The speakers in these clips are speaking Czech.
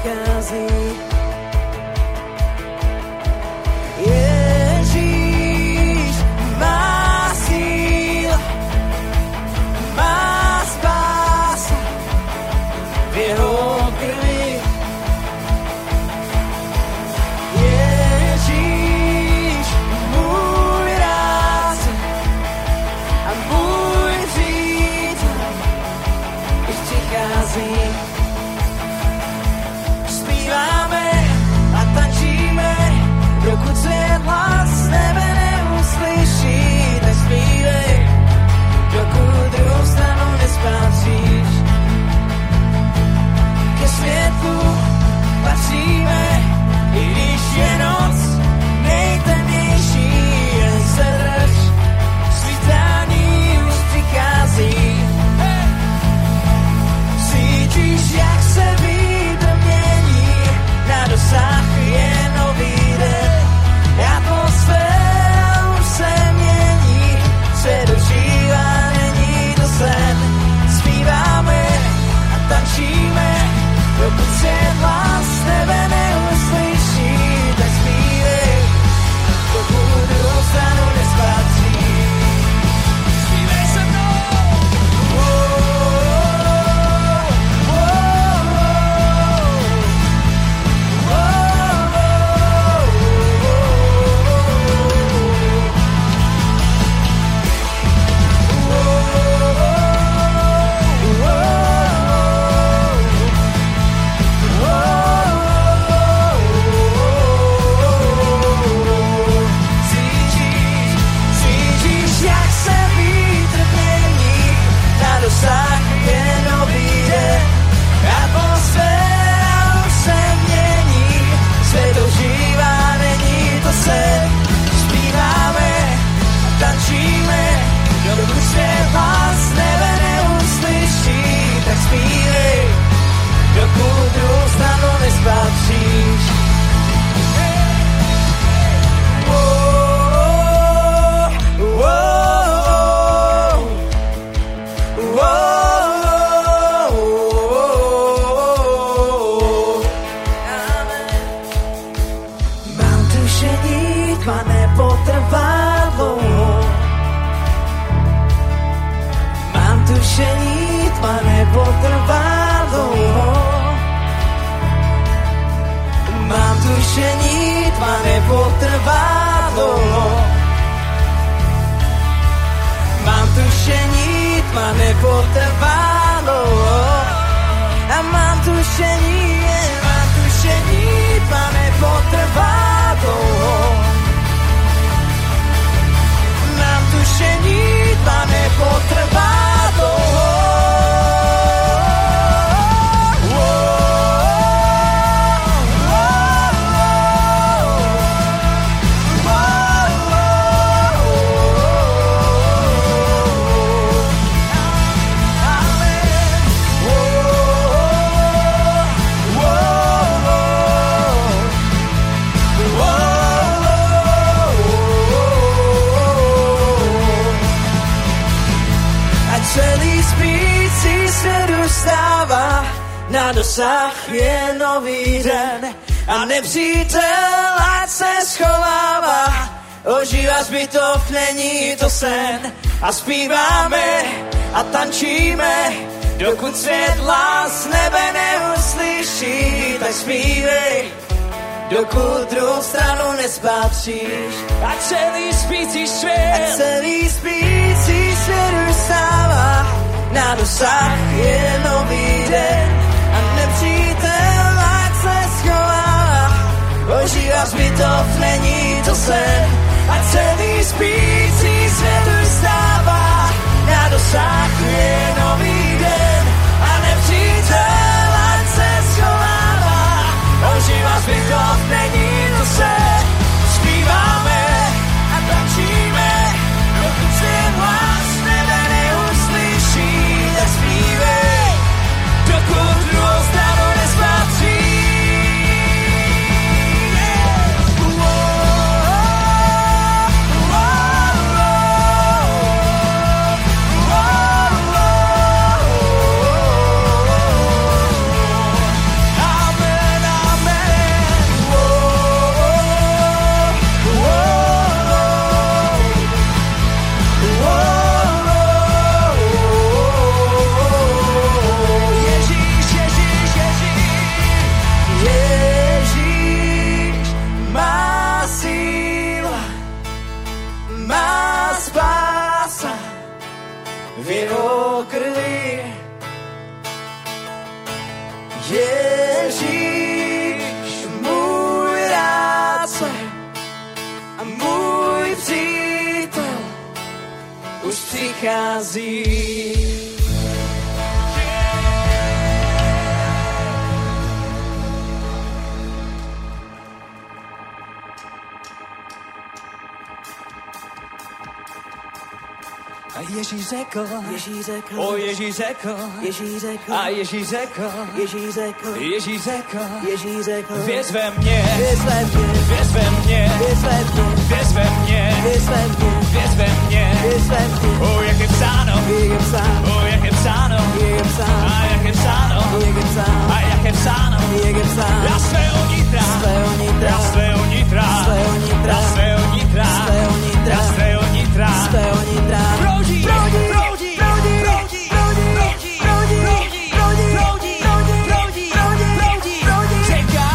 přichází. Ježíš má síl, má spása v jeho krvi. Ježíš, můj rádce a můj přítel, už přichází. Zpíváme a tančíme, dokud svět hlas nebe neuslyší, tak zpívej, dokud druhou stranu nespatříš. Ke světlu patříme, i když je noc nejtemnější, jen se drž, svítání už přichází. Cítíš, jak se vítr mění, na dosah je nový den. Atmosféra už se mění, svět ožívá, není to sen. Zpíváme a tančíme, dokud svět hlas nebe neuslyší, tak zpívej, dokud druhou stranu nespatří. Zpívej se mnou! Na dosah je nový den a nepřítel ať se schovává. Ožívá zbytov, není to sen. A zpíváme a tančíme, dokud svět hlas nebe neuslyší. Tak zpívej, dokud druhou stranu nespatříš. A celý spící svět už stává. Na dosah je nový den a nepřítel ať se schovává. Ožívá zbytov, není to sen. A celý spící svět už stává. Na dosah je nový den a nepřítel ať se schovává. Ožívá zbytov, není to sen. Zpíváme a tančíme, dokud svět hlas nebe neuslyší. Tak zpívej, dokud druhou stranu nespatří. Ježíš, můj rádce a můj přítel už přichází. A Ježíš řekl, o Ježíš řekl, a Ježíš řekl, věř ve mě, věř ve mě, o jak je psáno, o jak je psáno, a jak je psáno, a jak je psáno, já svého nitra, já svého nitra, já svého nitra, já svého nitra, proudí, proudí, proudí, proudí, proudí, proudí, proudí, proudí, proudí, proudí, proudí, řeka,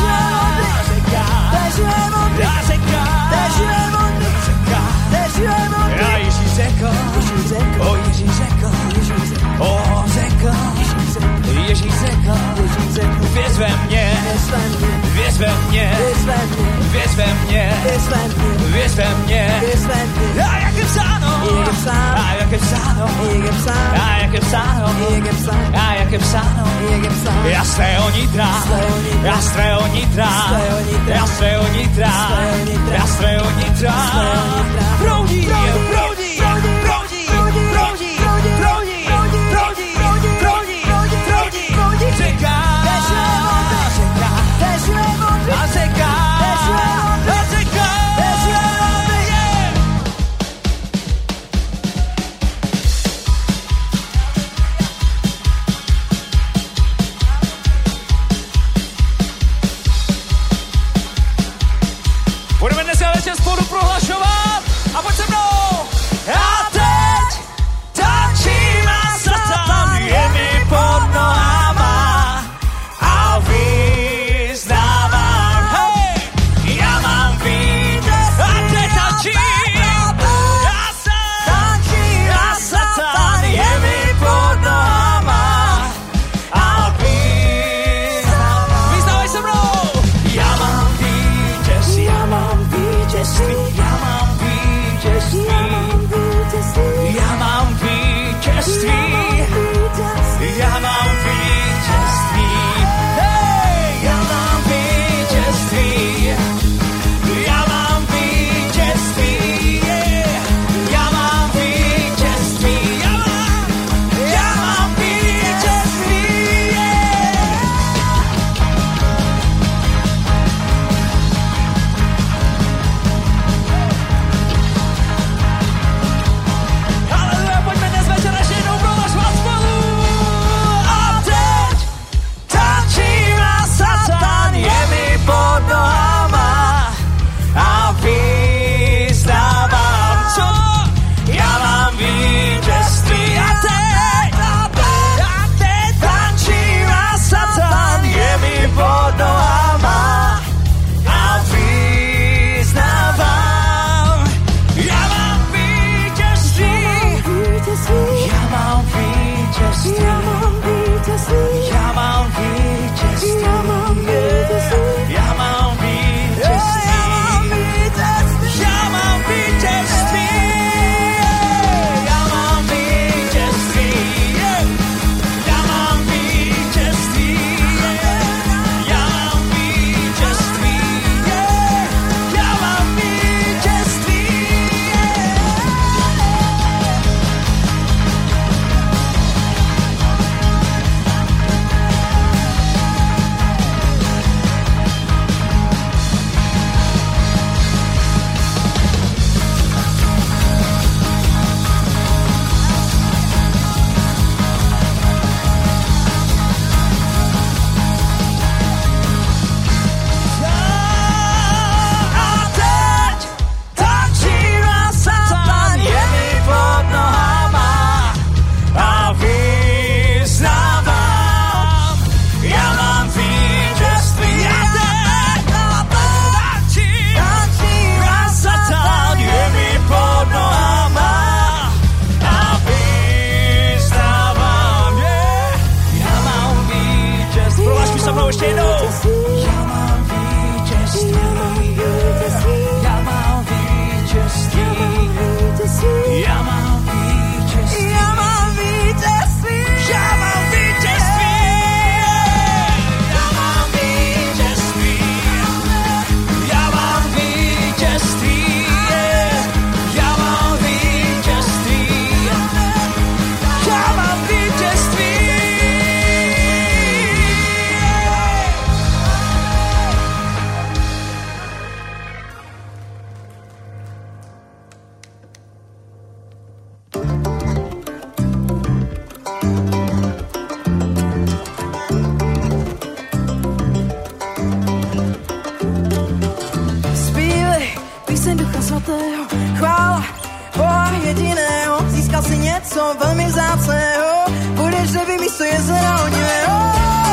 a Ježíš řekl, o Ježíš řekl, o řekl, Ježíš řekl, věř ve mě, věř ve mě, věř ve mě, věř ve mě, a jak je psáno, a jak je psáno, a jak je psáno, a jak je psáno, já svého nitra, já svého nitra, já svého nitra, já svého nitra, proudí, proudí, proudí, proudí, proudí, proudí, proudí, proudí, řeka, a řeka, a řeka, budeme dnes večer spolu prohlašovat a pojď se mnou! ještě jednou. Já mám vítězství. Já mám vítězství. Já mám vítězství. Já mám vítězství. Já mám vítězství. Já mám vítězství. Já mám vítězství. Já mám vítězství. Já mám vítězství. Zpívej píseň Ducha Svatého, chvála Boha jediného. Získal si něco velmi vzácného, budeš řevy místo jezera ohnivého.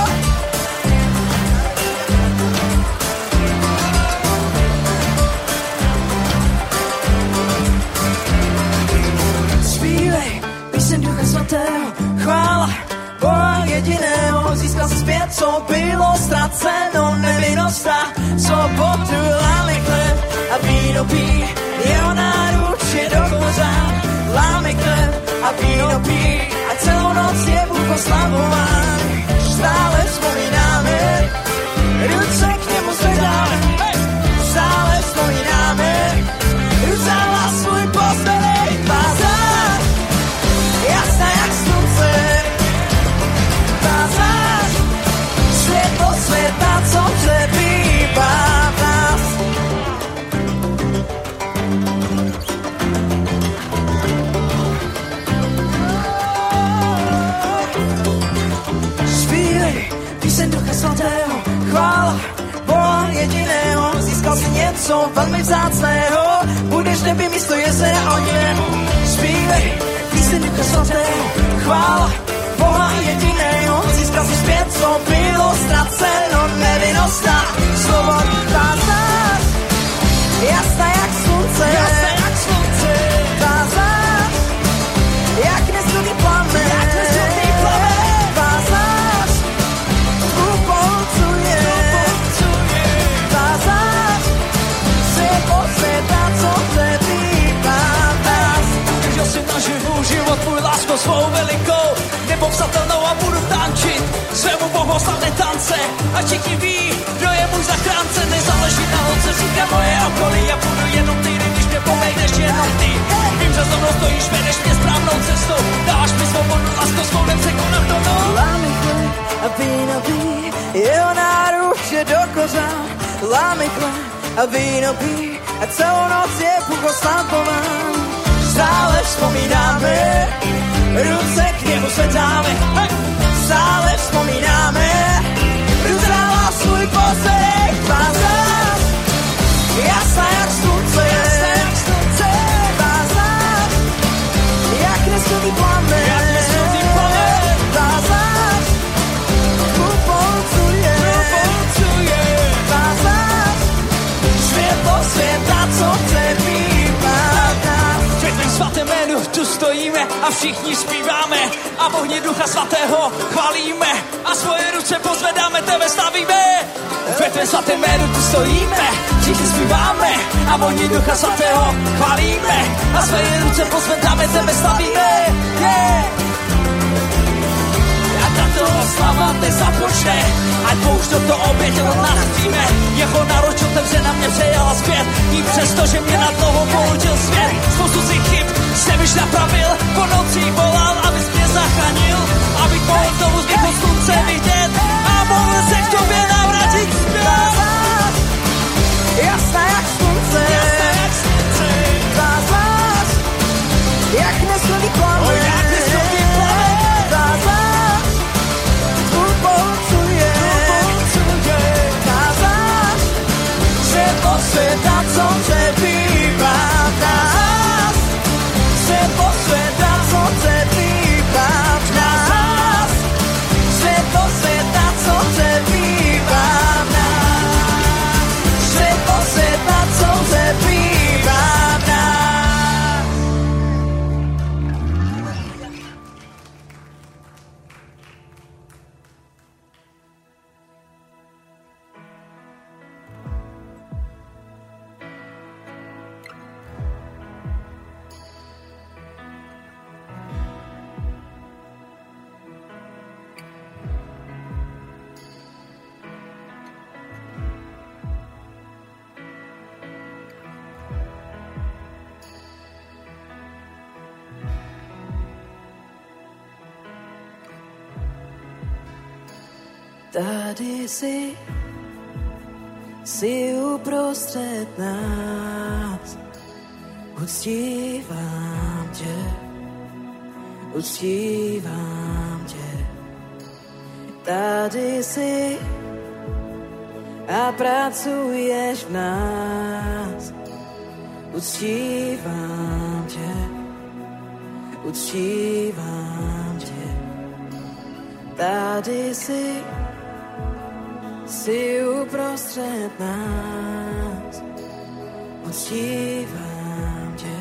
Zpívej píseň Ducha Svatého, chvála Boha jediného. Získal si zpět, co bylo ztraceno, nevinnost a svobodu. Láme chleb a víno pí, jeho náruče do kořa. Láme chleb a víno pí, a celou noc je Bůh oslavován. Stále vzpomínáme, ruce k němu zvedáme. Stále vzpomínáme, ruce na svůj poslednej bazár. Jasná jak slunce, bazár. Světlo světa, co přebývá v nás. Zpívej píseň Ducha Svatého, chvála Boha jediného. Získal si něco velmi vzácného, budeš nebe místo jezera ohnivého. Zpívej píseň Ducha Svatého, chvála Boha jediného. Získal si zpět, co bylo ztraceno, nevinnost a svoboda. Zář, jasná jak slunce, zář, jak nesnudný plamen, zář, upolcuje, zář, světlo světa, co přebývá v nás. Držel si naživu život tvůj lásko svou velikou, nepopsatelnou a budu tančit svému Bohu slavné tance. A všichni ví, kdo je můj zachránce. Nezáleží na holce, říká moje okolí. Já půjdu jenom ty, když mě povejdeš jenom ty. Vím, že za mnou stojíš, vedeš mě správnou cestou. Dáš mi svobodu, lásko svou nepřekonám do noc. Láme chleb a víno pí, jeho náruče do kořa. Láme chleb a víno pí, a celou noc je Bůh oslavován. Stále vzpomínáme, ruce k němu zvedáme. Stále vzpomínáme, ruce dává svůj posledek bazár. Jasná jak slunce, bazár. Jak nesnudný plamen, bazár. Upolcuje, bazár. Světlo světa, co přebývá v nás. Ve tvém svatém jménu tu stojíme a všichni zpíváme a v ohni Ducha Svatého chválíme a svoje ruce pozvedáme, tebe slavíme. Ve tvém svatém jménu tu stojíme, všichni zpíváme a v ohni Ducha Svatého chválíme a svoje ruce pozvedáme, tebe slavíme. Yeah. A tato oslava nezapočne, ať Bůh toto obětěl nachvíme. Jeho náruč otevře na mě přejala zpět, i přesto, že mě na dlouho poučil svět. Spoustu si chyb jsem již napravil, po noci volal, abys mě zachránil, abych mohl znovu z východ slunce vidět a mohl se k tobě navrátit zpět. Jasná jak slunce, zář, jak nesnudný plamen, zář, upolcuje, zář, světlo světa, co přebývá v nás, světlo světa, co přebývá v nás, světlo světa, co přebývá Tady si uprostřed nás. Uctívám tě. Tady si a pracuješ v nás. Uctívám tě. Tady si uprostřed nás. Uctívám tě.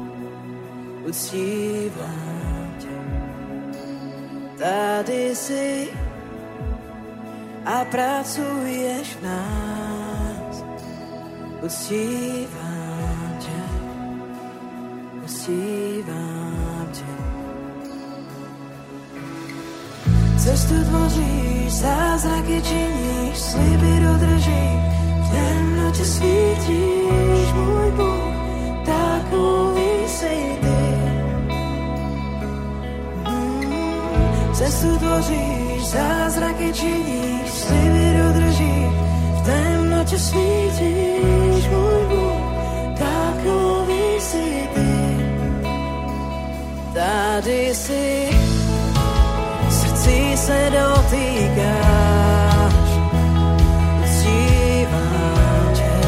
Tady si a pracuješ v nás. Uctívám tě. Cestu tvoříš, zázraky činíš, sliby dodržíš, v temnotě svítíš, můj Bůh, takový jsi ty. Cestu tvoříš, zázraky činíš, sliby dodržíš, v temnotě svítíš, můj Bůh, takový jsi ty. Tady si srdcí se dotýkáš. Uctívám tě.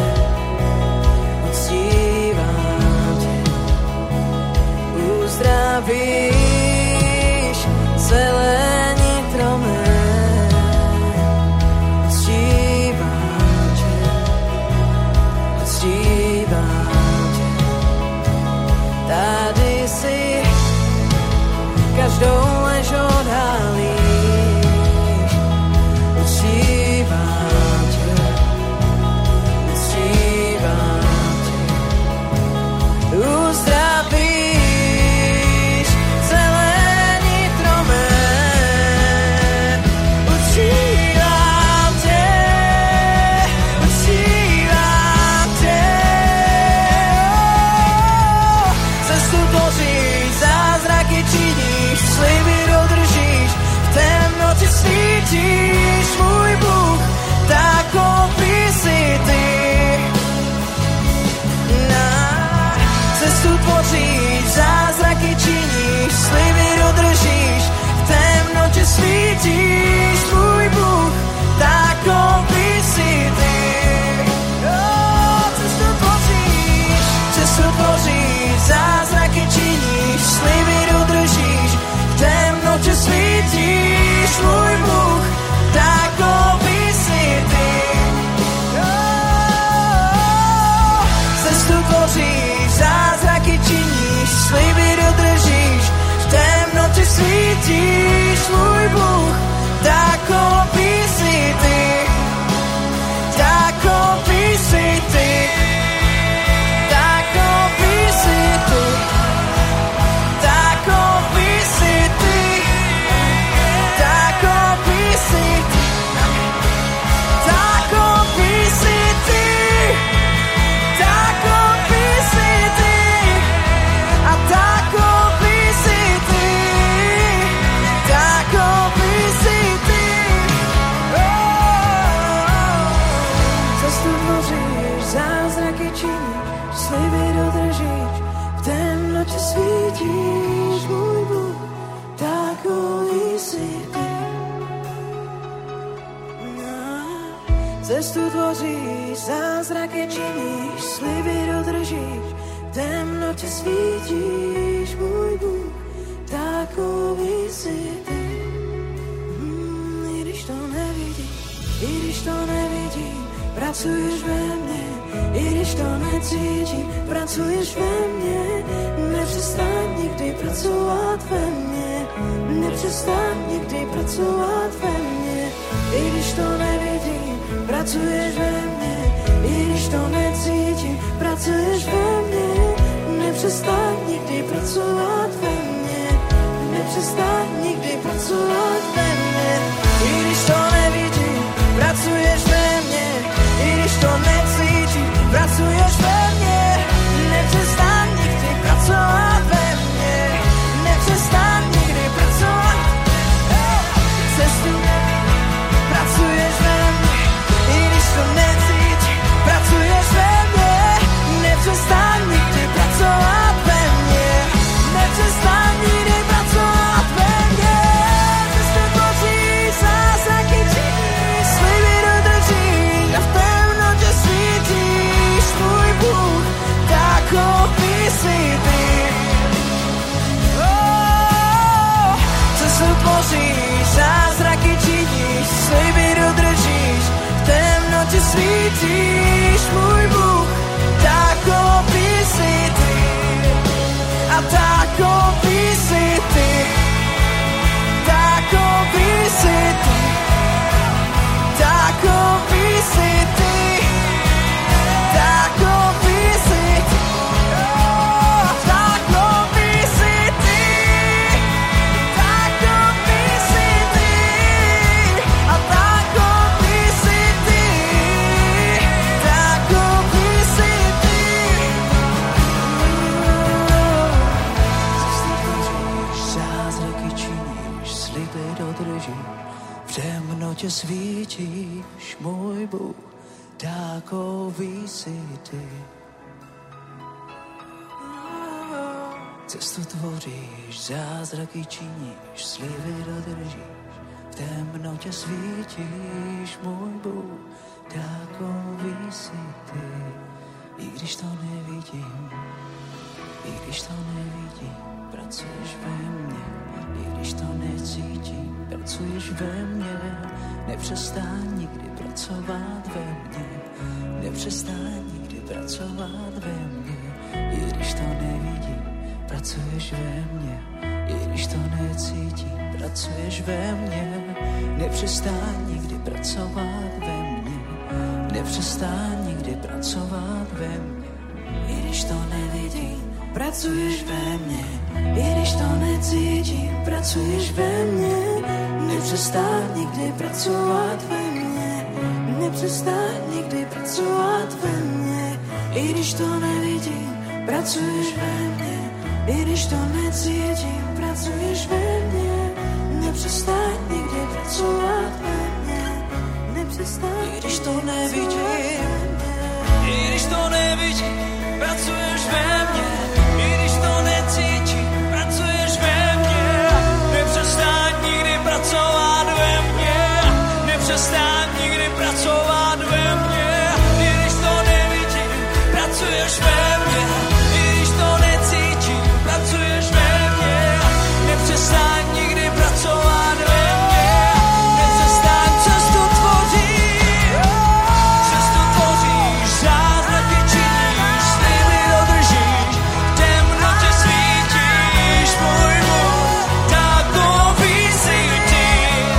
Uzdravíš celé nitro mé. Uctívám tě. Tady si každou lež odhalíš. Uctívám tě. Uzdravíš celé nitro mé. Uctívám tě. Cestu tvoříš, zázraky činíš, sliby dodržíš, v temnotě svítíš, můj Bůh, takový jsi ty. Cestu tvoříš, zázraky činíš, sliby dodržíš, v temnotě svítíš, můj Bůh, takový jsi ty. Cestu tvoříš, zázraky činíš, sliby dodržíš, v temnotě svítíš, můj Bůh, takový jsi ty. Cestu tvoříš, zázraky činíš, sliby dodržíš, v temnotě svítíš, můj Bůh, takový jsi ty. Takový jsi ty. Svítíš, můj Bůh, takový jsi ty. Cestu tvoříš, zázraky činíš, sliby dodržíš, v temnotě svítíš, můj Bůh, takový jsi ty. I když to nevidím, pracuješ ve mně. I když to necítím, pracuješ ve mně. Nepřestaň nikdy pracovat ve mně. Nepřestaň nikdy pracovat ve mně. I když to nevidím, pracuješ ve mně. I když to necítím, pracuješ ve mně. Nepřestaň nikdy pracovat ve mně. Nepřestaň nikdy pracovat ve mně. I když to nevidím, pracuješ ve mně. I když to necítím, pracuješ ve mně. Nepřestaň nikdy pracovat ve mně. Nepřestaň nikdy pracovat. Cestu pracuješ svítíš, můj Bůh, takový jsi ty a takový jsi ty, takový jsi ty, takový jsi ty, takový jsi ty, takový jsi ty, takový jsi ty a takový jsi ty, takový jsi ty. Zázraky činíš, sliby dodržíš, v temnotě svítíš, můj Bůh, takový jsi ty. Cestu tvoříš, zázraky činíš, sliby dodržíš, v temnotě svítíš, můj Bůh, takový jsi ty. I když to nevidím, i když to nevidím, pracuješ ve mně, i když to necítím, pracuješ ve mně, nepřestaň nikdy pracovat ve mně, nepřestaň nikdy pracovat ve mně, i když to nevidím, pracuješ ve mně, i když to necítím, pracuješ ve mně, nepřestaň nikdy pracovat ve mně, nepřestaň nikdy pracovat ve mně, i když to nevidím, pracuješ ve mně, i když to necítím, pracuješ ve mně, nepřestaň nikdy pracovat ve mně, nepřestaň nikdy pracovat ve mně, i když to nevidím, pracuješ ve mně, i když to necítím, pracuješ ve mně, nepřestaň nikdy pracovat ve mně, nepřestaň, i když to nevidím, i když to nevidím, pracuješ ve mně, i když to necítím, pracuješ ve mně, nepřestaň nikdy pracovat ve mně, nepřestaň nikdy pracovat ve mně, i když to nevidím, pracuješ ve mně, i když to necítím, pracuješ ve mně, nepřestaň nikdy pracovat ve mně, nepřestaň cestu tvoříš, zázraky činíš, sliby dodržíš, v temnotě svítíš, můj Bůh, takový jsi ty.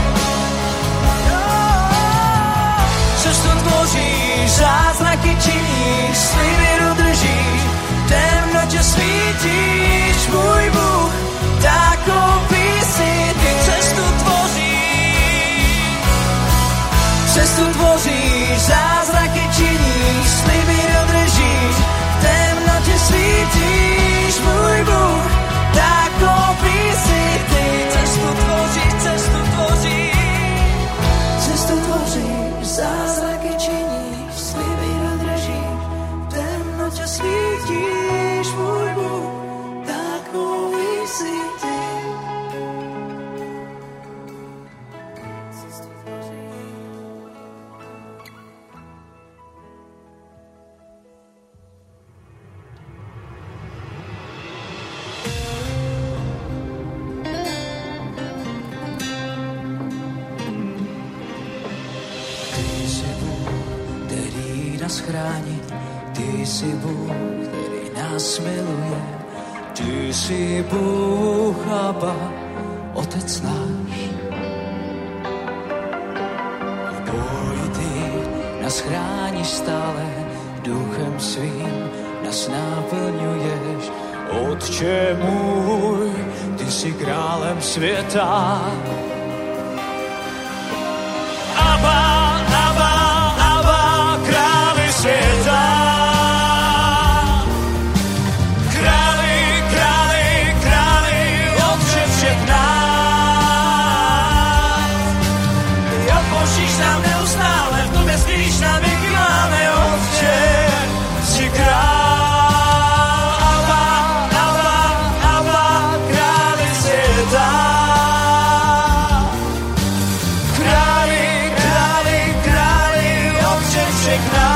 Cestu tvoříš, zázraky činíš, sliby dodržíš, v temnotě svítíš, můj Bůh, takový jsi ty. Cestu tvoříš, zázraky činíš, sliby dodržíš, v temnotě svítíš, můj Bůh, takový jsi ty. Cestu tvoříš, zázraky činíš, sliby dodržíš, v temnotě svítíš, můj Bůh, takový jsi ty. Chránit. Ty jsi Bůh, který nás miluje. Ty jsi Bůh, Abba, Otec náš. V boji ty nás chráníš stále, duchem svým nás naplňuješ. Otče můj, ty jsi králem světa. Abba, světa. Králi, králi, králi, Otče všech nás. Odpočíš nám neustále, v tobě sklíš na věky máme, Otče, jsi král. Abba, Abba, Abba, králi světa. Králi, králi, králi, Otče všech nás.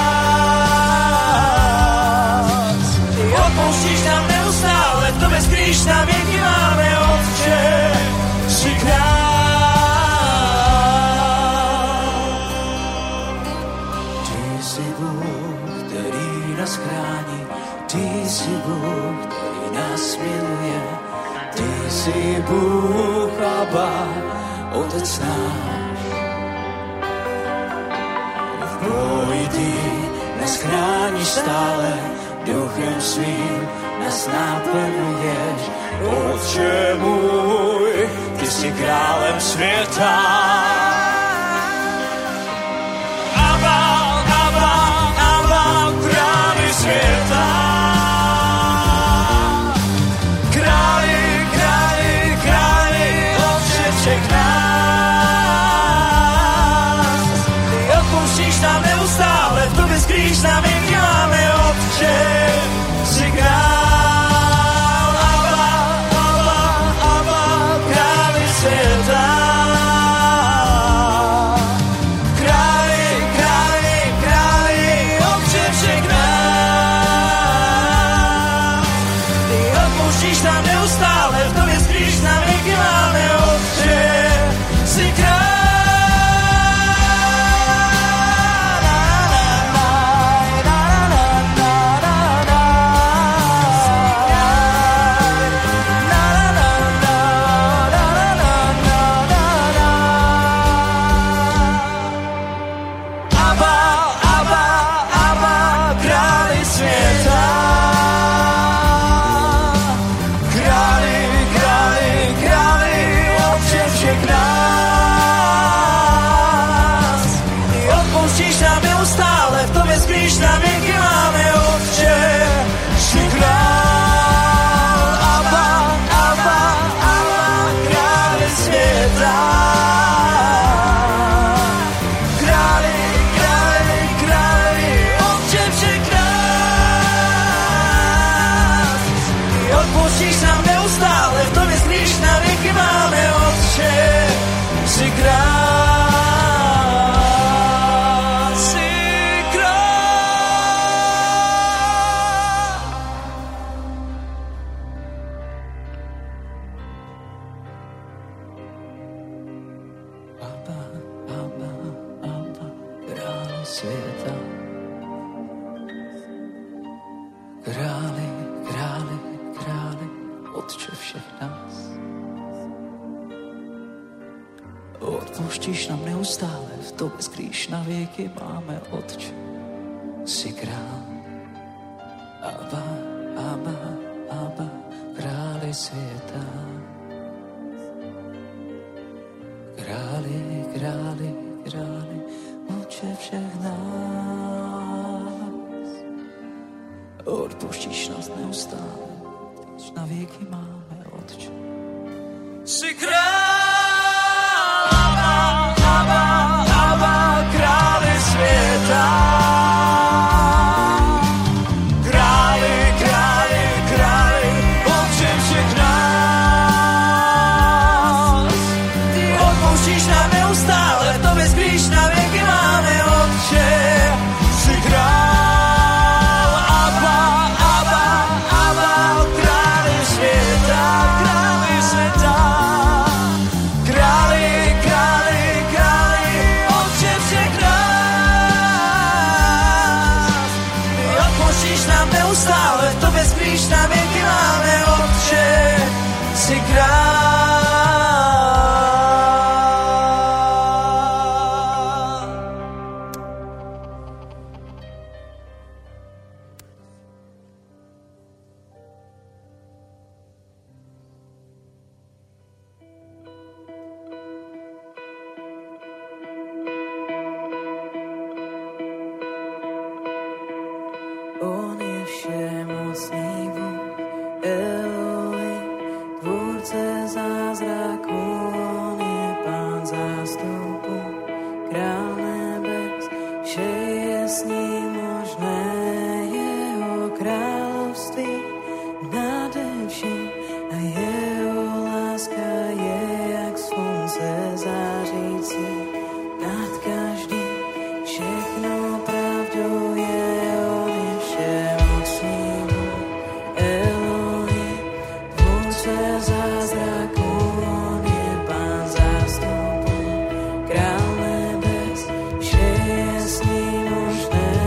Odpouštíš nám neustále, v tobě skrýš na věky máme, Otče, jsi král. Ty jsi Bůh, který nás chrání, ty jsi Bůh, který nás miluje, ty jsi Bůh, Abba, Otec náš. V boji ty nás chráníš stále, duchem svým nás naplňuješ. Otče můj, ty jsi králem světa. Světa. Králi, králi, králi, Otče všech nás. Ty odpouštíš nám neustále, v tobě skrýš nám věky máme, Otče, jsi král, Abba, Abba, Abba, králi světa. Králi, králi, králi, Otče všech nás. Pouštíš nám neustále, v tobě skrýš nám věky máme, Otče, jsi král. Abba, Abba, Abba, králi světa. Odpouštíš nám neustále, v tobě skrýš nám věky máme, Otče, jsi král, Abba, Abba, Abba, králi světa. Králi, králi, králi, Otče všech nás. Odpouštíš nám neustále, v tobě skrýš nám věky máme, Otče, jsi král. Světa. Králi, králi, králi, Otče všech nás. Odpouštíš nám neustále, v tobě skrýš na věky máme, Otče, jsi král. Abba, Abba, Abba, králi světa. Králi, králi, králi, Otče všech nás. Odpouštíš nás neustále, na věky máme, Otče. Jsi král, Abba, Abba, Abba, králi světa. Králi, králi, králi, Otče všech nás. Ty odpouštíš nám neustále, v tobě skrýš na věky máme, Otče, jsi král, Abba, Abba, Abba, králi světa, králi světa. Králi, králi, králi, Otče všech nás. Ty odpouštíš nám neustále, v tobě skrýš na věky máme, Otče, jsi král. On je všemocný Bůh, Elohim, tvůrce zázraků, on je Pán zástupů, král nebes, vše je s ním možné, jeho království nade vším a jeho láska je jak slunce zářící nad každým, všechno pravdou je. Král nebes, vše je s ním možné.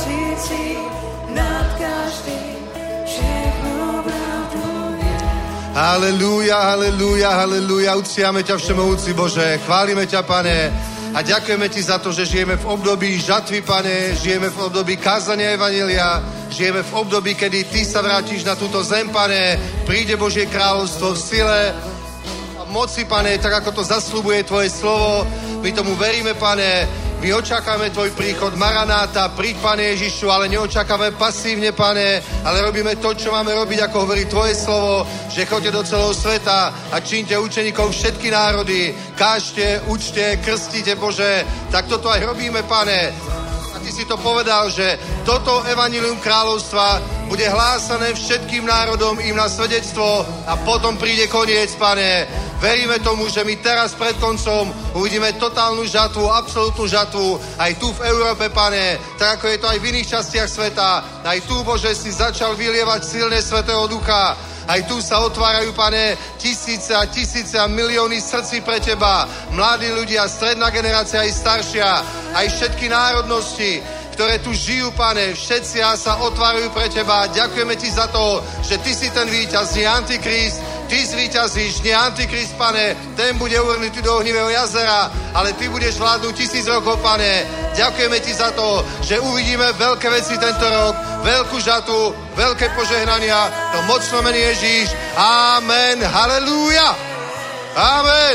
vládící nad každým, všechno pravdu je. Halelúja, halelúja, halelúja. Uctiame ťa, všemohúci Bože. Chválime ťa, Pane. A ďakujeme ti za to, že žijeme v období žatvy, Pane. Žijeme v období kázania evanjelia. Žijeme v období, kedy ty sa vrátiš na túto zem, Pane. Príde Božie kráľovstvo v sile a moci, Pane, tak ako to zasľubuje tvoje slovo. My tomu veríme, Pane. My očakáme tvoj príchod, Maranáta, príď, Pane Ježišu, ale neočakáme pasívne, Pane, ale robíme to, čo máme robiť, ako hovorí tvoje slovo, že choďte do celého sveta a čínte učeníkov všetky národy, kážte, učte, krstite, Bože, tak toto aj robíme, Pane. A ty si to povedal, že toto evanjelium kráľovstva bude hlásané všetkým národom im na svedectvo a potom príde koniec, Pane. Veríme tomu, že my teraz pred koncom uvidíme totálnu žatvu, absolútnu žatvu, aj tu v Európe, Pane, tak ako je to aj v iných častiach sveta. Aj tu, Bože, si začal vylievať silné Svätého Ducha. Aj tu sa otvárajú, Pane, tisíce a tisíce a milióny srdcí pre teba. Mladí ľudia, stredná generácia aj staršia, aj všetky národnosti, ktoré tu žijú, Pane, všetci sa otvárajú pre teba. Ďakujeme ti za to, že ty si ten víťaz, nie Antikrist. Ty zvíťazíš, nie Antikrist, Pane, ten bude uvrhnutý do ohnivého jazera, ale ty budeš vládnuť 1000 rokov, Pane. Ďakujeme ti za to, že uvidíme veľké veci tento rok, veľkú žatu, veľké požehnania, to mocno meno Ježíš. Amen, halelúja. Amen.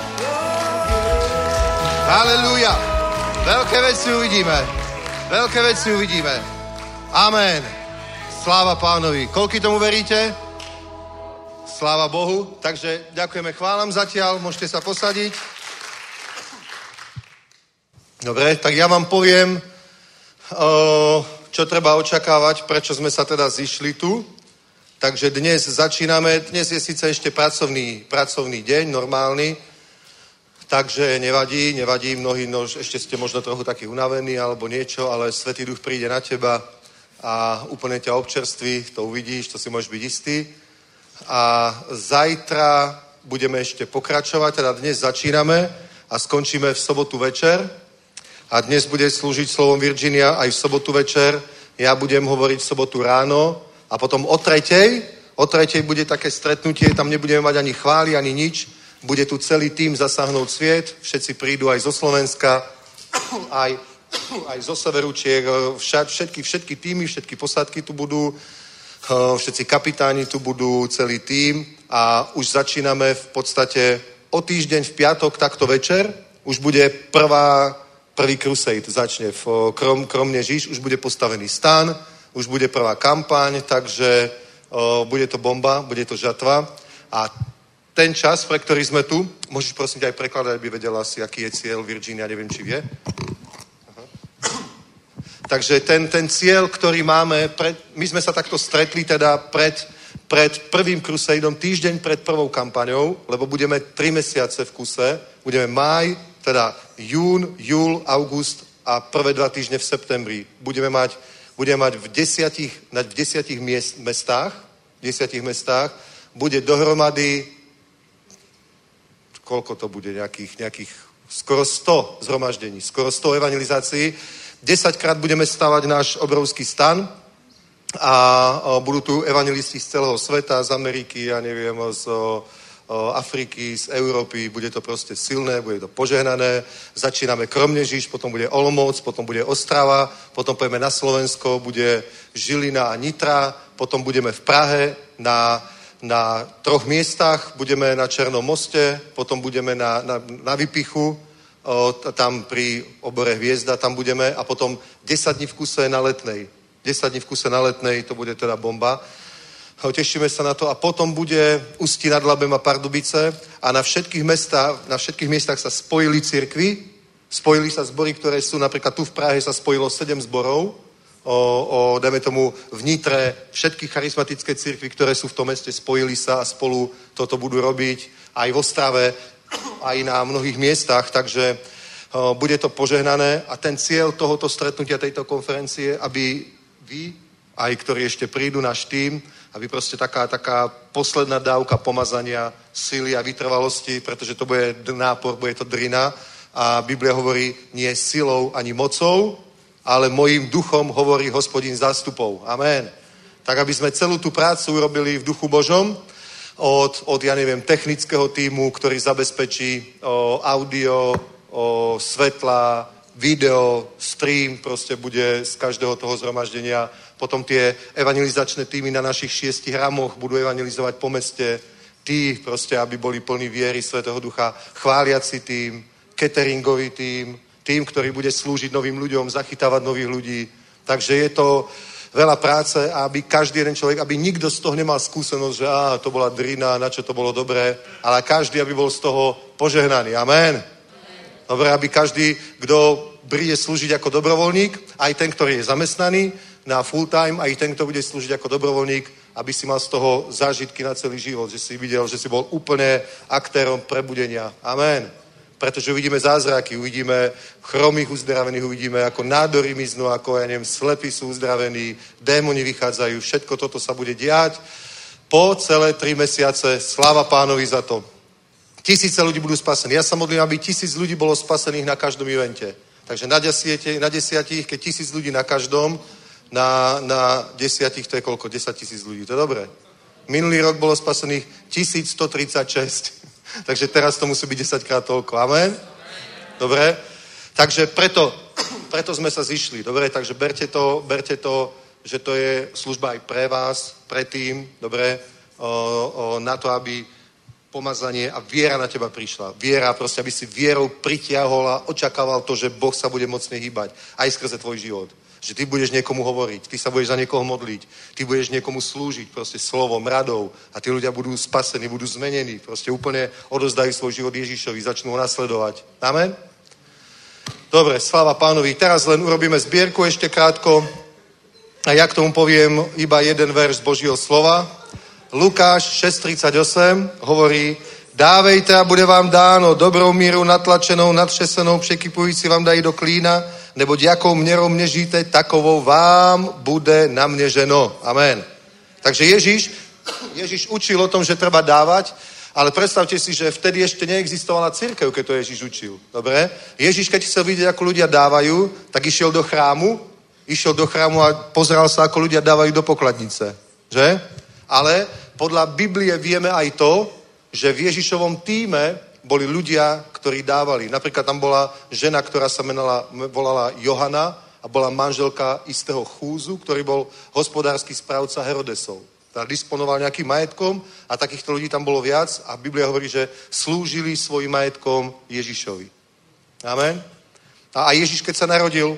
Halelúja. Veľké veci uvidíme. Veľké veci uvidíme. Amen. Sláva Pánovi. Koľky tomu veríte? Sláva Bohu. Takže ďakujeme, chválam zatiaľ. Môžete sa posadiť. Dobre, tak ja vám poviem, čo treba očakávať, prečo sme sa teda zišli tu. Takže dnes začíname. Dnes je síce ešte pracovný deň, normálny, takže nevadí. Mnohí ešte ste možno trochu takí unavení alebo niečo, ale Svätý Duch príde na teba a úplne ťa občerství, to uvidíš, to si môžeš byť istý. A zajtra budeme ešte pokračovať, teda dnes začíname a skončíme v sobotu večer. A dnes bude slúžiť slovom Virginia aj v sobotu večer. Ja budem hovoriť v sobotu ráno a potom o tretej bude také stretnutie, tam nebudeme mať ani chvály, ani nič. Bude tu celý tým zasáhnout sviet, všetci prídu aj zo Slovenska, aj zo Severučiek, všetky týmy, všetky posádky tu budú, všetci kapitáni tu budú, celý tým a už začíname v podstate o týždeň v piatok takto večer, už bude prvý crusade, začne v Kromnežiš, už bude postavený stan, už bude prvá kampaň, takže bude to bomba, bude to žatva a ten čas, pre ktorý sme tu, môžeš prosím ťa aj prekladať, aby vedela si, aký je cieľ Virginia, neviem, či vie. Aha. Takže ten cieľ, ktorý máme, my sme sa takto stretli teda pred prvým crusadeom, týždeň pred prvou kampaňou, lebo budeme 3 mesiace v kuse, budeme máj, teda jún, júl, august a prvé 2 týždne v septembri. Budeme mať v 10 mestách, bude dohromady koľko to bude, nejakých skoro 100 zhromaždení, skoro 100 evangelizácií. 10-krát budeme stavať náš obrovský stan a budú tu evangelisti z celého sveta, z Ameriky, ja neviem, z Afriky, z Európy, bude to proste silné, bude to požehnané. Začíname Kromnežiš, potom bude Olomouc, potom bude Ostrava, potom pôjdeme na Slovensko, bude Žilina a Nitra, potom budeme v Prahe na 3 miestach, budeme na Černom moste, potom budeme na Vypichu, tam pri obore Hviezda, tam budeme a potom 10 dní v kuse na Letnej. 10 dní v kuse na Letnej, to bude teda bomba. Tešíme sa na to a potom bude Ústí nad Labem a Pardubice a na všetkých miestach sa spojili cirkvi, spojili sa zbory, ktoré sú, napríklad tu v Prahe sa spojilo 7 zborov, dajme tomu v Nitre, všetky charizmatické cirkvi, ktoré sú v tom meste, spojili sa a spolu toto budú robiť aj v Ostrave, aj na mnohých miestach, takže bude to požehnané a ten cieľ tohoto stretnutia, tejto konferencie, aby vy, aj ktorí ešte prídu, náš tým, aby proste taká posledná dávka pomazania, sily a vytrvalosti, pretože to bude nápor, bude to drina a Biblia hovorí nie silou ani mocou, ale mojím duchom hovorí Hospodin zástupov. Amen. Tak, aby sme celú tú prácu urobili v duchu Božom, od technického tímu, ktorý zabezpečí audio, svetla, video, stream, proste bude z každého toho zhromaždenia. Potom tie evangelizačné týmy na našich 6 hramoch budú evangelizovať po meste. Tí proste, aby boli plní viery Svätého Ducha. Chváliaci tým, cateringový tým, ktorý bude slúžiť novým ľuďom, zachytávať nových ľudí. Takže je to veľa práce, aby každý jeden človek, aby nikto z toho nemal skúsenosť, že to bola drina, na čo to bolo dobré, ale každý, aby bol z toho požehnaný. Amen. Dobre, aby každý, kto príde slúžiť ako dobrovoľník, aj ten, ktorý je zamestnaný na full time, aj ten, kto bude slúžiť ako dobrovoľník, aby si mal z toho zážitky na celý život, že si videl, že si bol úplne aktérom prebudenia. Amen. Pretože uvidíme zázraky, uvidíme chromých uzdravených, uvidíme, ako nádory miznú, ako, slepí sú uzdravení, démoni vychádzajú, všetko toto sa bude diať po celé 3 mesiace. Sláva Pánovi za to. 1000 ľudí budú spasení. Ja sa modlím, aby 1000 ľudí bolo spasených na každom evente. Takže na 10, keď 1000 ľudí na každom, na 10 to je koľko? 10 000 ľudí, to je dobré. Minulý rok bolo spasených 1136. Takže teraz to musí byť 10-krát toľko. Amen? Dobre? Takže preto sme sa zišli. Dobre? Takže berte to, že to je služba aj pre vás, pre tým, dobre? Na to, aby pomazanie a viera na teba prišla. Viera, proste, aby si vierou pritiahol a očakával to, že Boh sa bude mocne hýbať. Aj skrze tvoj život. Že ty budeš niekomu hovoriť, ty sa budeš za niekoho modliť, ty budeš niekomu slúžiť proste slovom, radou a tí ľudia budú spasení, budú zmenení, proste úplne odozdajú svoj život Ježišovi, začnú ho nasledovať. Amen? Dobre, sláva Pánovi. Teraz len urobíme zbierku ešte krátko a ja k tomu poviem iba jeden verš z Božieho slova. Lukáš 6:38 hovorí: dávejte a bude vám dáno, dobrou mírou natlačenou, nadšesenou, překypující vám dají do klína, neboť jakou měrou měříte, takovou vám bude namneženo. Amen. Takže Ježiš učil o tom, že treba dávať, ale predstavte si, že vtedy ešte neexistovala cirkev, keď to Ježiš učil. Dobre? Ježiš, keď chcel vidieť, ako ľudia dávajú, tak išiel do chrámu a pozeral sa, ako ľudia dávajú do pokladnice. Že? Ale podľa Biblie vieme aj to, že v Ježišovom tíme boli ľudia, ktorí dávali. Napríklad tam bola žena, ktorá sa volala Johana a bola manželka istého Chúzu, ktorý bol hospodársky správca Herodesov. Teda disponoval nejakým majetkom a takýchto ľudí tam bolo viac a Biblia hovorí, že slúžili svojim majetkom Ježišovi. Amen. A Ježiš, keď sa narodil,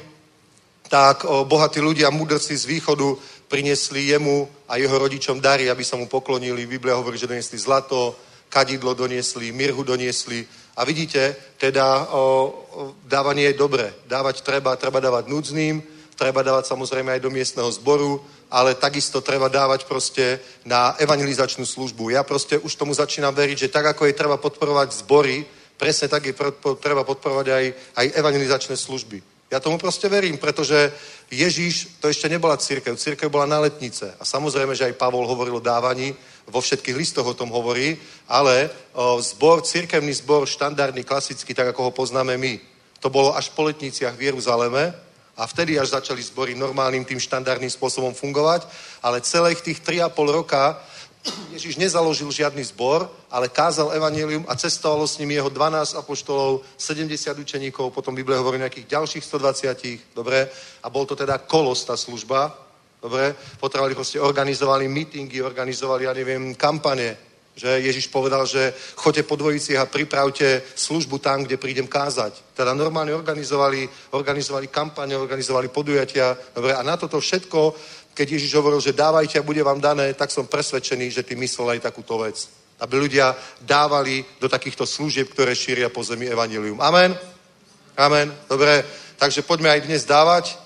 tak bohatí ľudia, mudrci z východu priniesli jemu a jeho rodičom dary, aby sa mu poklonili. Biblia hovorí, že doniesli zlato, kadidlo doniesli, mirhu doniesli. A vidíte, teda dávanie je dobré. Dávať treba dávať núdznym, treba dávať samozrejme aj do miestneho zboru, ale takisto treba dávať proste na evangelizačnú službu. Ja proste už tomu začínam veriť, že tak, ako je treba podporovať zbory, presne tak je treba podporovať aj evangelizačné služby. Ja tomu proste verím, pretože Ježíš, to ešte nebola cirkev. Cirkev bola na letnice. A samozrejme, že aj Pavol hovoril o dávaní, vo všetkých listoch o tom hovorí, ale cirkevný zbor, štandardný, klasický, tak ako ho poznáme my, to bolo až po letniciach v Jeruzaleme a vtedy až začali zbory normálnym tým štandardným spôsobom fungovať, ale celých tých 3,5 roka Ježiš nezaložil žiadny zbor, ale kázal evanjelium a cestovalo s ním jeho 12 apoštolov, 70 učeníkov, potom Biblia hovorí nejakých ďalších 120, dobre? A bol to teda kolos, tá služba, dobre? Potrebovali proste, organizovali mítingy, organizovali, kampane, že Ježiš povedal, že choďte po dvojiciach a pripravte službu tam, kde prídem kázať. Teda normálne organizovali kampane, organizovali podujatia, dobre? A na toto všetko, keď Ježiš hovoril, že dávajte a bude vám dané, tak som presvedčený, že ty myslel aj takúto vec. Aby ľudia dávali do takýchto služieb, ktoré šíria po zemi evanjelium. Amen? Amen. Dobre, takže poďme aj dnes dávať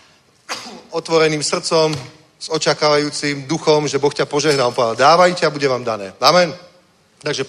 otvoreným srdcom, s očakávajúcim duchom, že Boh ťa požehná. On povedal, dávajte a bude vám dané. Amen. Takže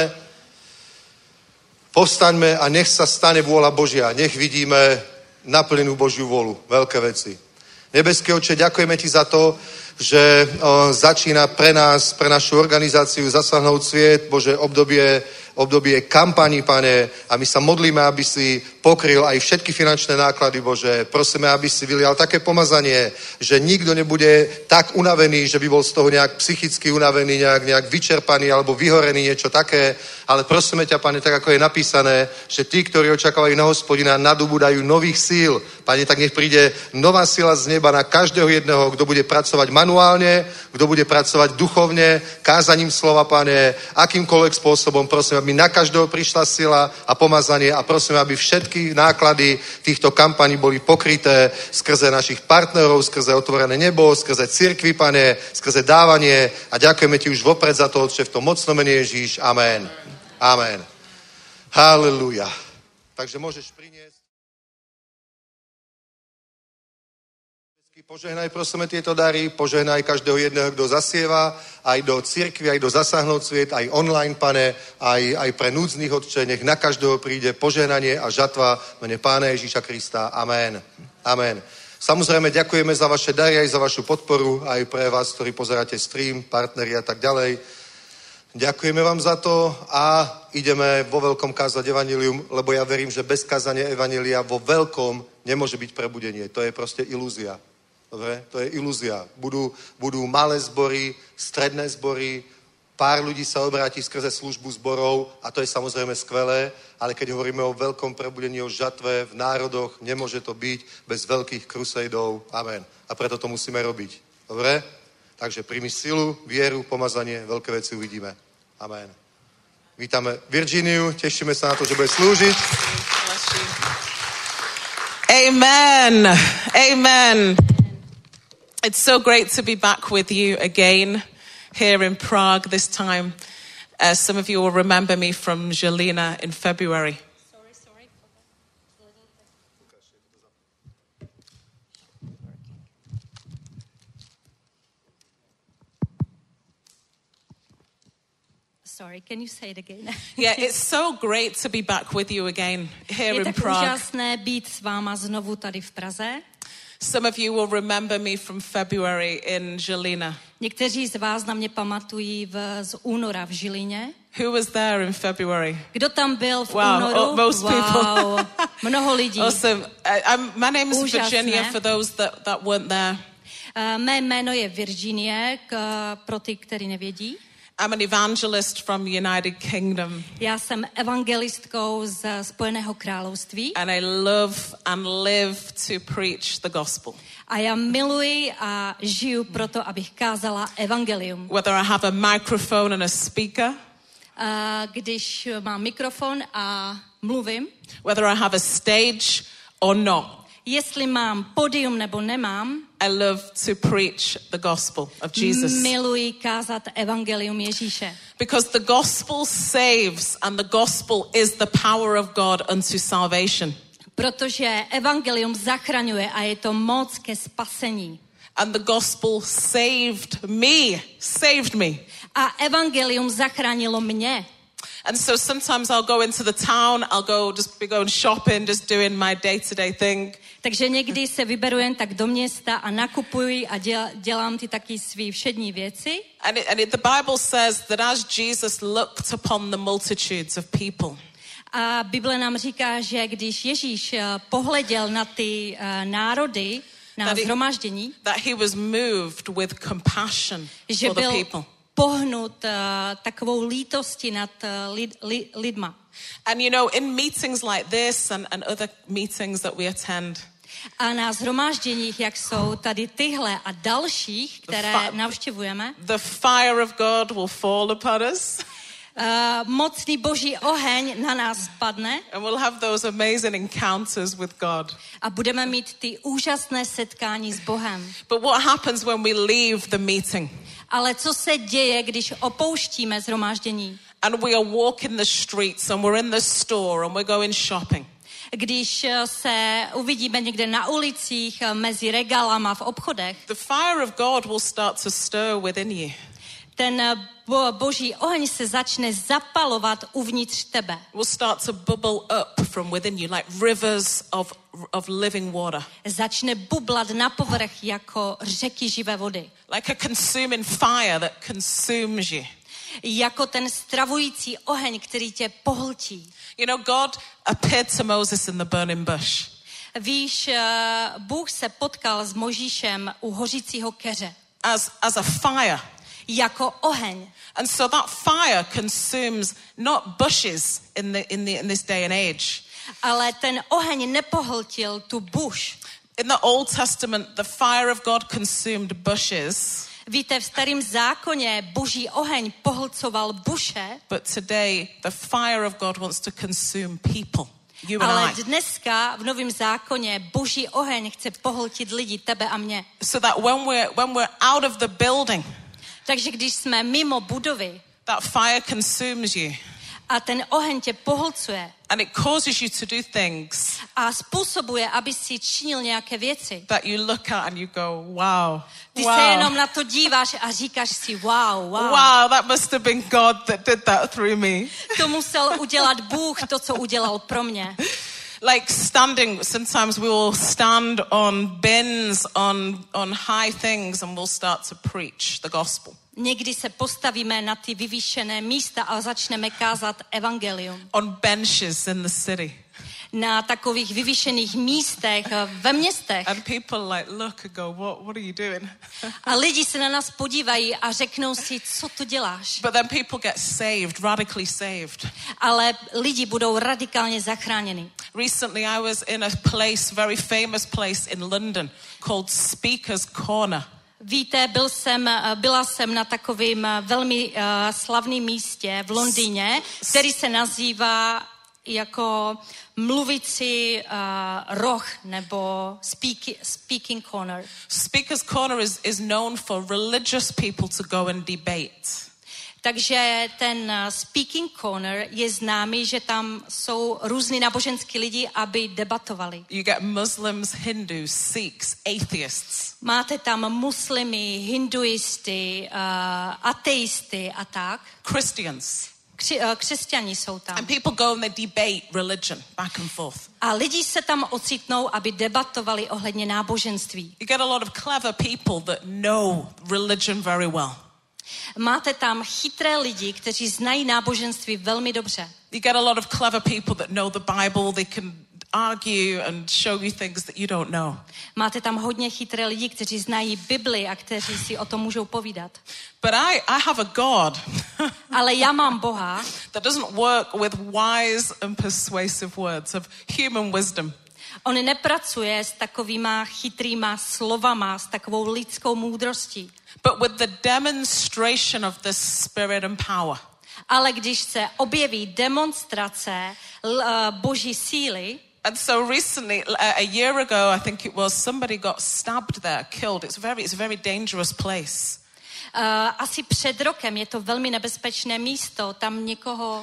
povstaňme a nech sa stane vôľa Božia. Nech vidíme naplnenú Božiu vôľu. Veľké veci. Nebeský Otče, ďakujeme ti za to, že začína pre nás, pre našu organizáciu Zasáhnout sviet, Bože, obdobie obdobie kampaní, Pane, a my sa modlíme, aby si pokryl aj všetky finančné náklady, Bože. Prosíme, aby si vylial také pomazanie, že nikto nebude tak unavený, že by bol z toho nejak psychicky unavený, nejak vyčerpaný alebo vyhorený, niečo také. Ale prosíme ťa, Pane, tak ako je napísané, že tí, ktorí očakávajú na Hospodina, nadobúdajú nových síl. Pane, tak nech príde nová sila z neba na každého jedného, kto bude pracovať manuálne, kto bude pracovať duchovne, kázaním slova, Pane, akýmkoľvek spôsobom. Prosím, aby na každého prišla sila a pomazanie a prosím, aby všetky náklady týchto kampaní boli pokryté skrze našich partnerov, skrze otvorené nebo, skrze cirkvi, Pane, skrze dávanie a ďakujeme ti už vopred za to, Otče, v tom mocnom mene Ježíš. Amen. Amen. Halleluja. Takže môžeš priniesť. Požehnaj, prosíme, tieto dary, požehnaj každého jedného, kto zasieva, aj do cirkvi, aj do Zasáhnout sviet, aj online, Pane, aj pre núdznych, Otče, nech na každého príde požehnanie a žatva v mene Pána Ježíša Krista. Amen. Amen. Samozrejme, ďakujeme za vaše dary, aj za vašu podporu, aj pre vás, ktorí pozeráte stream, partneri a tak ďalej. Ďakujeme vám za to a ideme vo veľkom kázať evanjelium, lebo ja verím, že bez kázania evanjelia vo veľkom nemôže byť prebudenie. To je proste ilúzia. Dobre? To je ilúzia. Budú malé zbory, stredné zbory, pár ľudí sa obráti skrze službu zborov a to je samozrejme skvelé, ale keď hovoríme o veľkom prebudení, o žatve v národoch, nemôže to byť bez veľkých krusejdov. Amen. A preto to musíme robiť. Dobre? Takže príjmi silu, vieru, pomazanie, veľké veci uvidíme. Amen. Vítame Virginiu, tešíme sa na to, že bude slúžiť. Amen. Amen. It's so great to be back with you again here in Prague this time. Some of you will remember me from Žilina in February. Sorry, can you say it again? Yeah, it's so great to be back with you again here in Prague. Je tak úžasné být s váma znovu tady v Praze. Some of you will remember me from February in Žilina. Někteří z vás na mě pamatují z února v Žilině. Who was there in February? Kdo tam byl v únoru? Most people. Mnoho lidí. Awesome. My name is Virginia for those that weren't there. Mé jméno je Virginie, pro ty, kteří nevědí. I'm an evangelist from United Kingdom. Já jsem evangelistkou z Spojeného království. And I love and live to preach the gospel. A já miluji a žiju proto, abych kázala evangelium. Whether I have a microphone and a speaker. Když mám mikrofon a mluvím. Whether I have a stage or not. Jestli mám podium nebo nemám. I love to preach the gospel of Jesus. Miluji kázat evangelium Ježíše. Because the gospel saves and the gospel is the power of God unto salvation. Protože evangelium zachraňuje a je to moc ke spasení. And the gospel saved me. A evangelium zachránilo mě. And so sometimes I'll go into the town, I'll be going shopping, just doing my day-to-day thing. Takže někdy se vyberu jen tak do města a nakupuji a dělám ty taky svý všední věci. And the Bible says that as Jesus looked upon the multitudes of people. A Bible nám říká, že když Ježíš pohleděl na ty národy, na shromáždění, that he was moved with compassion for the people. Pohnut takovou lítostí nad lidma. And you know, in meetings like this and other meetings that we attend, a na shromážděních, jak jsou tady tyhle a dalších, které navštěvujeme, the fire of God will fall upon us. Mocný boží oheň na nás spadne. And we'll have those amazing encounters with God. A budeme mít ty úžasné setkání s Bohem. But what happens when we leave the meeting? Ale co se děje, když opouštíme shromáždění? And we are walking the streets and we're in the store and we're going shopping. Když se uvidíme někde na ulicích, mezi regálama v obchodech, the fire of God will start to stir within you. Ten boží oheň se začne zapalovat uvnitř tebe. Will start to bubble up from within you like rivers of living water. Začne bublat na povrch jako řeky živé vody. Like a consuming fire that consumes you. Jako ten stravující oheň, který tě pohltí. You know, God appeared to Moses in the burning bush. Víš, Bůh se potkal s Možíšem u hořícího keře. As a fire. Jako oheň. And so that fire consumes not bushes in this day and age. Ale ten oheň nepohltil tu buš. In the Old Testament, the fire of God consumed bushes. Víte, v starém zákoně boží oheň pohlcoval buše. But today, the fire of God wants to consume people. You and Ale I. dneska v novém zákoně boží oheň chce pohltit lidi, tebe a mě. So that when we're out of the building, Takže když jsme mimo budovy, that fire consumes you. A ten oheň tě pohlcuje. And it causes you to do things. A způsobuje, aby si činil nějaké věci. That you look at and you go, wow. Ty se jenom na to díváš a říkáš si, wow. Wow, that must have been God that did that through me. To musel udělat Bůh, to, co udělal pro mě. Like standing, sometimes we will stand on bins, on high things and we'll start to preach the gospel. Někdy se postavíme na ty vyvýšené místa a začneme kázat evangelium. On benches in the city. Na takových vyvýšených místech ve městech. And people like look and go, what are you doing? A lidi se na nás podívají a řeknou si, co tu děláš. But then people get saved, radically saved. Ale lidi budou radikálně zachráněni. Recently I was in a place, very famous place in London called Speaker's Corner. Víte, byla jsem na takovém velmi slavném místě v Londýně, který se nazývá jako mluvící roh nebo speaking corner. Speaker's Corner is known for religious people to go and debate. Takže ten speaking corner je známý, že tam jsou různí náboženský lidi, aby debatovali. You get Muslims, Hindus, Sikhs, atheists. Máte tam muslimy, hinduisty, ateisty a tak. Christians. Křesťani jsou tam. And people go and they debate religion back and forth. A lidi se tam ocitnou, aby debatovali ohledně náboženství. You get a lot of clever people that know religion very well. Máte tam chytré lidi, kteří znají náboženství velmi dobře. You get a lot of clever people that know the Bible, they can argue and show you things that you don't know. Máte tam hodně chytré lidi, kteří znají Bibli a kteří si o tom můžou povídat. But I have a God. Ale já mám Boha, that doesn't work with wise and persuasive words of human wisdom. On nepracuje s takovýma chytrýma slovama, s takovou lidskou moudrostí. But with the demonstration of the Spirit and power. Ale když se objeví demonstrace Boží síly, and so recently, a year ago, I think it was, somebody got stabbed there, killed. It's a very dangerous place. Asi před rokem je to velmi nebezpečné místo, tam někoho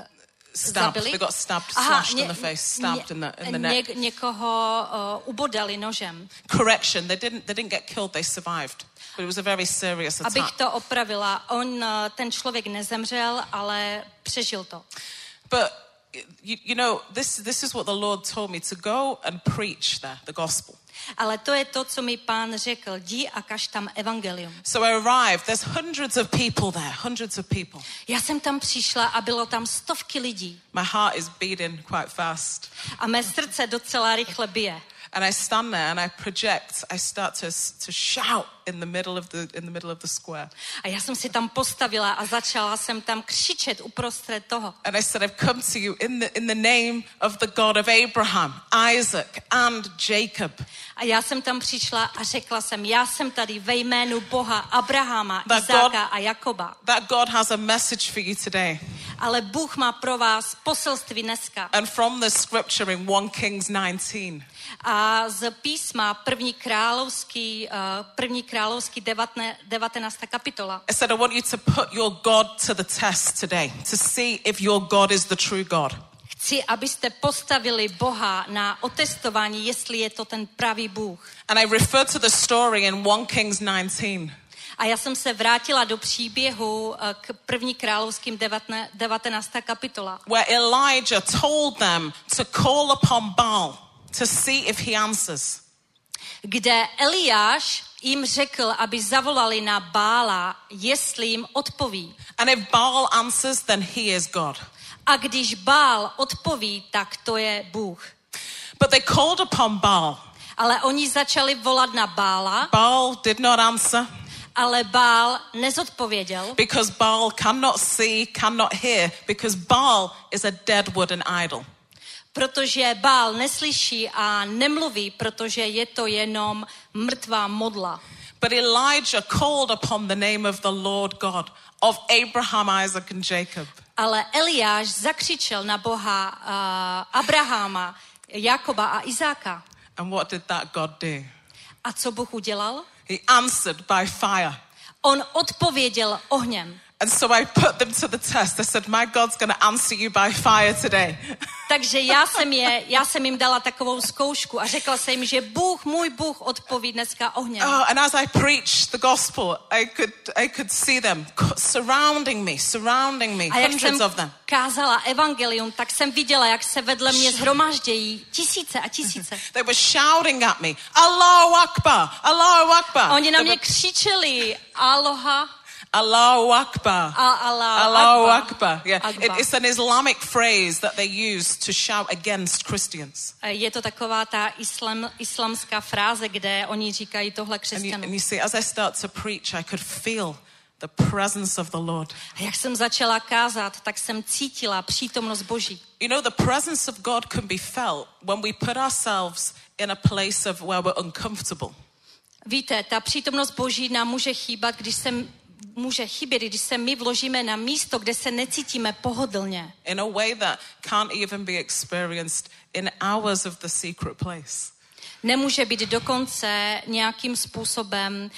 zabili. They got stabbed, slashed in the face, stabbed in the neck. Někoho ubodali nožem. Correction, they didn't get killed, they survived. But it was a very serious attack. Abych to opravila, ten člověk nezemřel, ale přežil to. But you know, this is what the Lord told me, to go and preach the gospel. Ale to je to, co mi Pán řekl, jdi a kaž tam evangelium. So I arrived, there's hundreds of people there, hundreds of people. Já jsem tam přišla a bylo tam stovky lidí. My heart is beating quite fast. A mé srdce docela rychle bije. And I stand there and I project, I start to shout in the middle of the square. A já jsem si tam postavila a začala jsem tam křičet uprostřed toho. And I said, I've come to you in the name of the God of Abraham, Isaac and Jacob. A já jsem tam přišla a řekla jsem, já jsem tady ve jménu Boha Abrahama, Izáka a Jakoba. That God has a message for you today. Ale Bůh má pro vás poselství dneska. And from the scripture in 1 Kings 19. A z písma první královský 19. kapitola. I said, I want you to put your God to the test today, to see if your God is the true God. Chci, abyste postavili Boha na otestování, jestli je to ten pravý Bůh. And I referred to the story in 1 Kings 19. A já jsem se vrátila do příběhu k první královským 19. kapitola. Where Elijah told them to call upon Baal to see if he answers. kde Eliáš jim řekl, aby zavolali na Bála, jestli jim odpoví. And if Baal answers, then he is God. A když Bál odpoví, tak to je Bůh. But they called upon Baal. Ale oni začali volat na Bála. Baal did not answer. Ale Bál nezodpověděl. Because Baal cannot see, cannot hear, because Baal is a dead wooden idol. Protože Bál neslyší a nemluví, protože je to jenom mrtvá modla. But Elijah called upon the name of the Lord God of Abraham, Isaac and Jacob. Ale Eliáš zakřičel na Boha Abrahama, Jakoba a Izáka. And what did that God do? A co Bůh udělal? He answered by fire. On odpověděl ohněm. And so I put them to the test. I said, my God's going to answer you by fire today. Takže já jsem jim dala takovou zkoušku a řekla jsem jim, že můj Bůh odpoví dneska ohněm. Oh, and as I preached the gospel, I could see them surrounding me, hundreds of them. Kázala evangelium, tak jsem viděla, jak se vedle mě shromáždějí tisíce a tisíce. They were shouting at me, Allahu Akbar, Allahu Akbar. Oni na mě křičeli, Aloha. Allahu Akbar. Allahu Akbar. Yeah. It's an Islamic phrase that they use to shout against Christians. Je to taková ta islamská fráze, kde oni říkají tohle křesťanům. And you see, as I start to preach, I could feel the presence of the Lord. A jak jsem začala kázat, tak jsem cítila přítomnost Boží. You know, the presence of God can be felt when we put ourselves in a place of where we're uncomfortable. Víte, ta přítomnost Boží nám může chybět, když se my vložíme na místo, kde se necítíme pohodlně. In a way that can't even be experienced in hours of the secret place. Nemůže být dokonce nějakým způsobem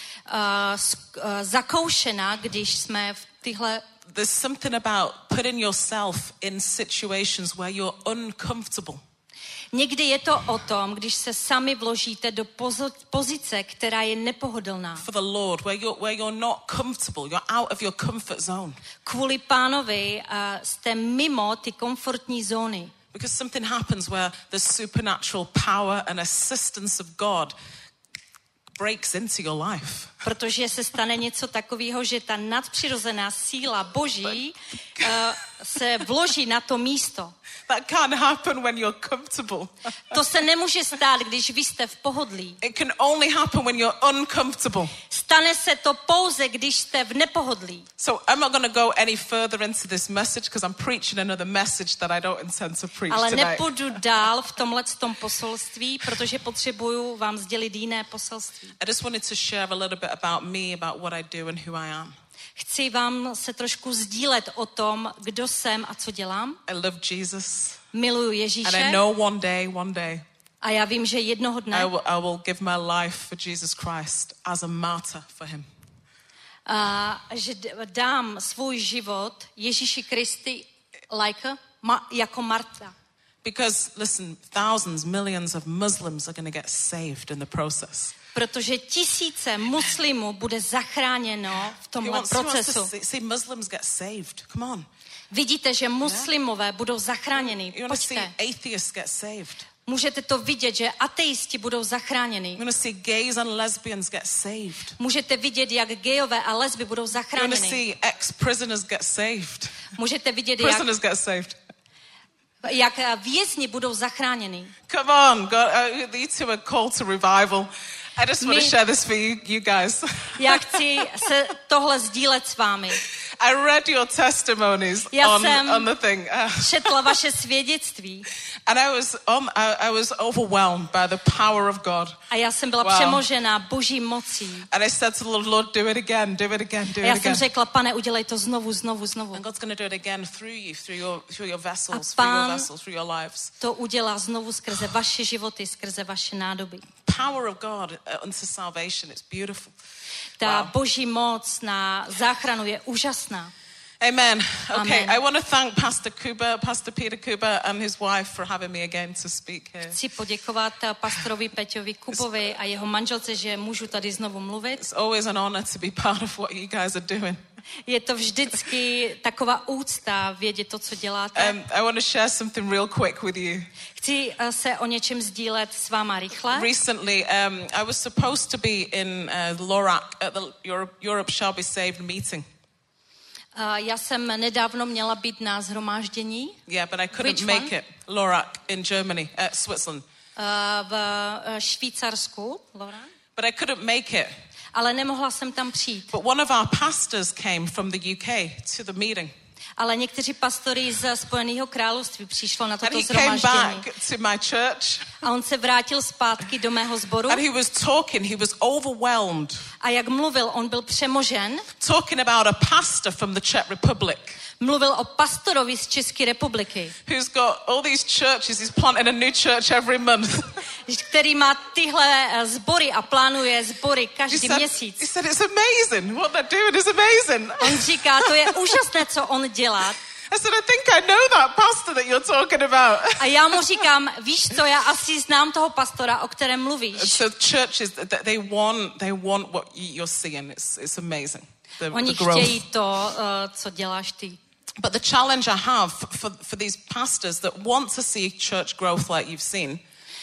zakoušena, když jsme v tyhle... There's something about putting yourself in situations where you're uncomfortable. Někdy je to o tom, když se sami vložíte do pozice, která je nepohodlná. For the Lord, where you're not comfortable, you're out of your comfort zone. Kvůli Pánovi jste mimo ty komfortní zóny. Because something happens where the supernatural power and assistance of God breaks into your life. Protože se stane něco takového, že ta nadpřirozená síla Boží se vloží na to místo. That can't happen when you're comfortable. To se nemůže stát, když vy jste v pohodlí. It can only happen when you're uncomfortable. Stane se to pouze, když jste v nepohodlí. So I'm not going to go any further into this message because I'm preaching another message that I don't intend to preach Ale tonight. nepůjdu dál v tomhletom poselství, protože potřebuju vám sdělit jiné poselství. I just wanted to share a little bit about me, about what I do and who I am. Chci vám se trošku sdílet o tom, kdo jsem a co dělám. I love Jesus. Miluju Ježíše. And I know one day, a já vím, že jednoho dne I will give my life for Jesus Christ as a martyr for him. Že dám svůj život Ježíši Kristi jako martyr. Because listen, thousands, millions of Muslims are going to get saved in the process. Protože tisíce muslimů bude zachráněno v tomhle procesu. See Muslims get saved. Come on. Vidíte, že muslimové budou zachráněni. Pojďte. Atheists get saved. Můžete to vidět, že ateisti budou zachráněni. You're going to see gays and lesbians get saved. Můžete vidět, jak gejové a lesby budou zachráněni. You're going to see ex-prisoners get saved. Můžete vidět, prisoners get saved. Jak vězni budou zachráněni. Come on, God, you two are called to revival. I just want to share this for you guys. Já chci se tohle sdílet s vámi. I read your testimonies on the thing. Četla vaše svědectví. And I was overwhelmed by the power of God. A já jsem byla přemožená Boží mocí. And I said to the Lord, do it again, do it again, do it again. Já jsem řekla, Pane, udělej to znovu. And God's going to do it again through you, through your vessels, through your lives. To udělá znovu skrze vaše životy, skrze vaše nádoby. Power of God unto salvation, it's beautiful. Ta Boží moc na záchranu je úžasná. Amen. Okay, Amen. I want to thank Pastor Peter Kuba and his wife for having me again to speak here. Chci poděkovat pastorovi Peťovi Kubovi a jeho manželce, že můžu tady znovu mluvit. It's always an honor to be part of what you guys are doing. Je to vždycky taková úcta vědět to, co děláte. I want to share something real quick with you. Chci se o něčem sdílet s váma rychle. Recently, I was supposed to be in Lorac at the Europe Shall Be Saved meeting. Já jsem nedávno měla být na shromáždění. Yeah, but I couldn't Which make one? it. Lorac in Germany, Switzerland. V Švýcarsku, Laura. But I couldn't make it. Ale nemohla jsem tam přijít. But one of our pastors came from the UK to the meeting. Ale někteří pastory z Spojeného království přišlo na And toto he came shromáždění. back to my church. A on se vrátil zpátky do mého sboru. And he was talking, he was overwhelmed. A jak mluvil, on byl přemožen. Talking about a pastor from the Czech Republic. Mluvil o pastorovi z České republiky, Who's got all these churches, he's planting a new church every month. který má tyhle sbory a plánuje sbory každý he měsíc. said, it's amazing. What they're doing is amazing. On říká, to je úžasné, co on dělá. I said, I think I know that pastor that you're talking about. A já mu říkám, víš co, já asi znám toho pastora, o kterém mluvíš. So churches, they want what you're seeing. It's amazing. Oni the growth. chtějí to, co děláš ty. But the challenge I have for these pastors that want to see church growth like you've seen,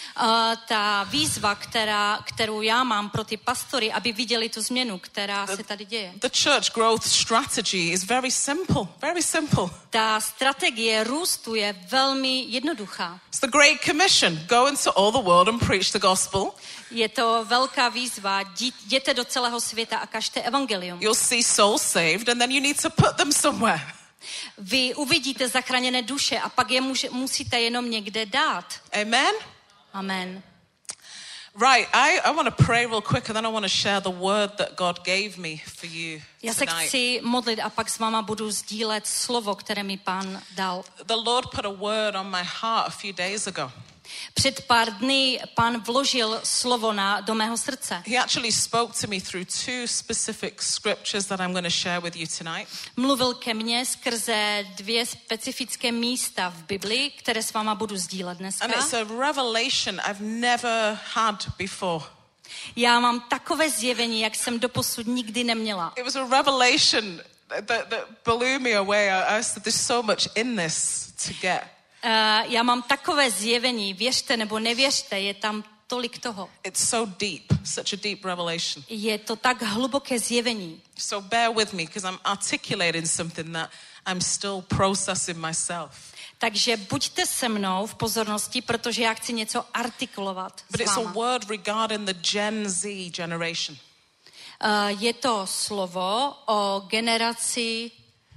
Ta výzva, kterou já mám pro ty pastory, aby viděli tu změnu, která se tady děje. the church growth strategy is very simple, very simple. Ta strategie růstu je velmi jednoduchá. It's the Great Commission. Go into all the world and preach the gospel. Je to velká výzva, jděte do celého světa a kažte evangelium. You'll see souls saved and then you need to put them somewhere. Vy uvidíte zachráněné duše a pak je musíte jenom někde dát. Amen? Amen. Right, I want to pray real quick and then I want to share the word that God gave me for you Já se tonight. chci modlit a pak s váma budu sdílet slovo, které mi Pán dal. The Lord put a word on my heart a few days ago. Před pár dny Pán vložil slovo do mého srdce. He actually spoke to me through two specific scriptures that I'm going to share with you tonight. Mluvil ke mně skrze 2 specifické místa v Biblii, které s váma budu sdílet dneska. And it's a revelation I've never had before. Já mám takové zjevení, jak jsem doposud nikdy neměla. It was a revelation that blew me away. I said, there's so much in this to get. Já mám takové zjevení, věřte nebo nevěřte, je tam tolik toho. It's so deep, such a deep revelation. Je to tak hluboké zjevení. So bear with me because I'm articulating something that I'm still processing myself. Takže buďte se mnou v pozornosti, protože já chci něco artikulovat But s it's a váma. word regarding the Gen Z generation. Je to slovo o generaci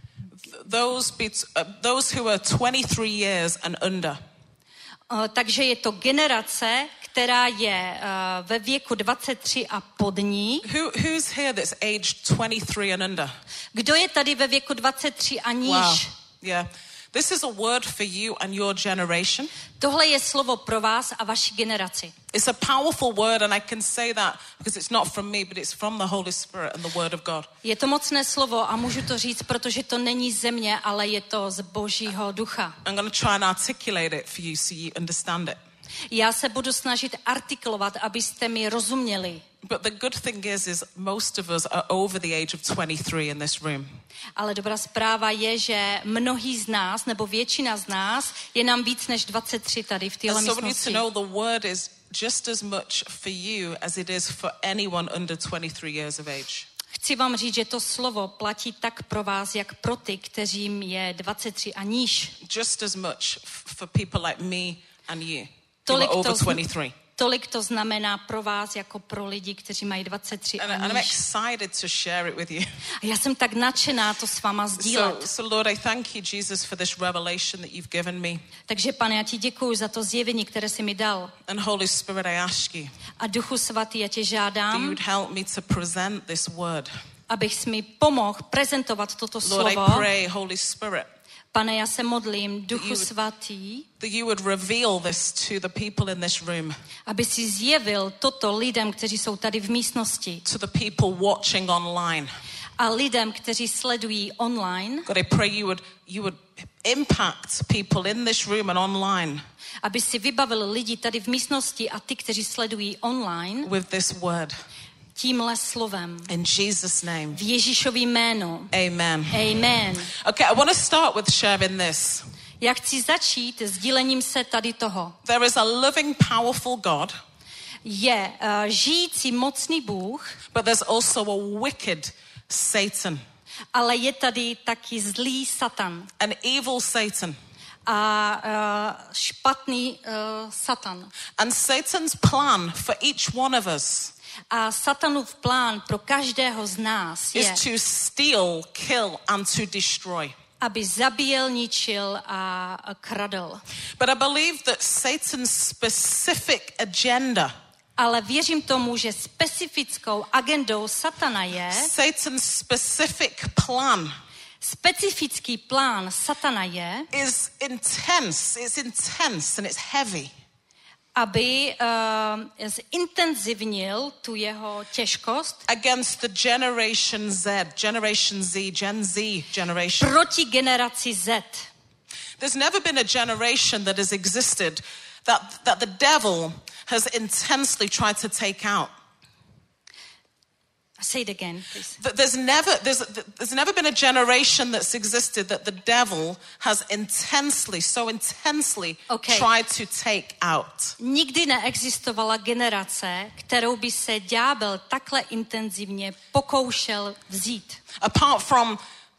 Those who are 23 years and under. Takže je to generace, která je ve věku 23 a pod ní. Who's here that's aged 23 and under? Kdo je tady ve věku 23 a níž? Wow. Yeah. This is a word for you and your generation. Tohle je slovo pro vás a vaši generaci. It's a powerful word and I can say that because it's not from me, but it's from the Holy Spirit and the Word of God. Je to mocné slovo a můžu to říct, protože to není ze mě, ale je to z Božího ducha. I'm going to try and articulate it for you so you understand it. Já se budu snažit artikulovat, abyste mi rozuměli. But the good thing is most of us are over the age of 23 in this room. Ale dobrá zpráva je, že mnohí z nás, nebo většina z nás, je nám víc než 23 tady v téhle And so we need to místnosti. know the word is just as much for you as it is for anyone under 23 years of age. Chci vám říct, že to slovo platí tak pro vás, jak pro ty, kteřím je 23 a níž. Just as much for people like me and you who are over 23. Tolik to znamená pro vás, jako pro lidi, kteří mají 23 a And I'm níž. excited to share it with you. A já jsem tak nadšená to s váma sdílet. So Lord, I thank you, Jesus, for this revelation that you've given me. Takže, Pane, já ti děkuji za to zjevení, které jsi mi dal. And Holy Spirit, I ask you, A Duchu svatý, já tě that you žádám, would help me to present this word. abych mi pomohl prezentovat toto Lord, slovo. I pray, Holy Spirit, Pane, já se modlím, you Duchu would- svatý, that you would reveal this to the people in this room, aby si zjevil toto lidem, kteří jsou tady v místnosti. to the people watching online. a lidem, kteří sledují online, God, I pray you would impact people in this room and online aby si vybavil lidi tady v místnosti a ty, kteří sledují online, with this word. tímhle slovem. In Jesus' name. V Ježíšově jménu. Amen. Amen. Okay, I want to start with sharing this. Já chci začít sdílením se tady toho. There is a loving, powerful God, Je žijící mocný Bůh, but there's also a wicked Satan, ale je tady taky zlý Satan an evil Satan. a špatný Satan. And Satan's plan for each one of us A Satanův plán pro každého z nás je, is to steal, kill, and to destroy. aby zabíjel, ničil a kradl. But I believe that Satan's specific agenda, Ale věřím tomu, že specifickou agendou Satana je, Satan's specific plan specifický plán Satana je, is intense. It's intense and it's heavy. aby zintenzivnil tu jeho těžkost Against the Generation Z, Gen Z generation. proti generaci Z. There's never been a generation that has existed that the devil has intensely tried to take out. Say it again, please. There's never been a generation that's existed that the devil has so intensely Okay. tried to take out. Nikdy neexistovala generace, kterou by se ďábel takhle intenzivně pokoušel vzít. Apart from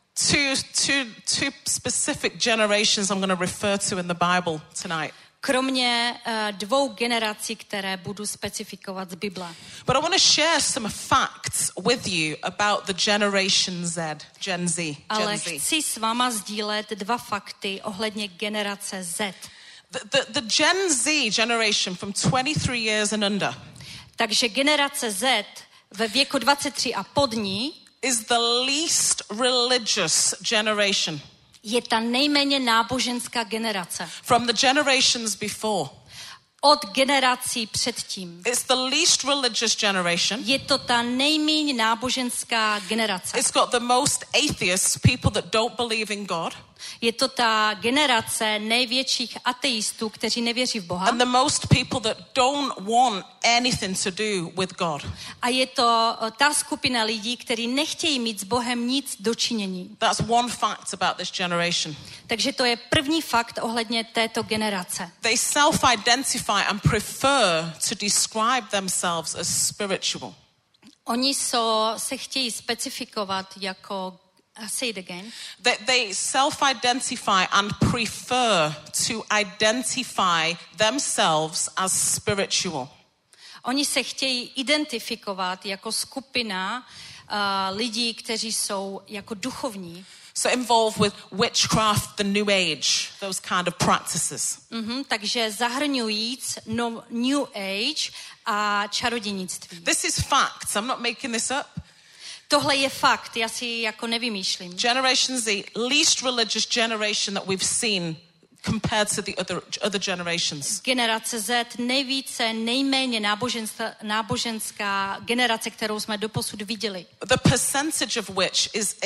two specific generations I'm going to refer to in the Bible tonight. Kromě dvou generací, které budu specifikovat z Bible. But I want to share some facts with you about the Generation Z, Gen Z. Ale chci s váma sdílet dva fakty ohledně generace Z. The Gen Z generation from 23 years and under Takže generace Z ve věku 23 a pod ní is the least religious generation je ta nejméně náboženská generace. from the generations before. Od generací předtím. It's the least religious generation. Je to ta nejméně náboženská generace. It's got the most atheists, people that don't believe in God, Je to ta generace největších ateistů, kteří nevěří v Boha. and the most people that don't want anything to do with God. A je to ta skupina lidí, kteří nechtějí mít s Bohem nic dočinění. That's one fact about this generation. Takže to je první fakt ohledně této generace. They self-identify and prefer to describe themselves as spiritual. Oni se chtějí specifikovat jako say it again. They self-identify and prefer to identify themselves as spiritual. Oni se chtějí identifikovat jako skupina lidí, kteří jsou jako duchovní. So involved with witchcraft, the New Age, those kind of practices. Takže zahrnujíc New Age a čarodějnictví. This is facts. I'm not making this up. Tohle je fakt, já si jako nevymýšlím. Generation Z, least religious generation that we've seen compared to the other generations. Generace Z nejméně náboženská generace, kterou jsme doposud viděli. The percentage of which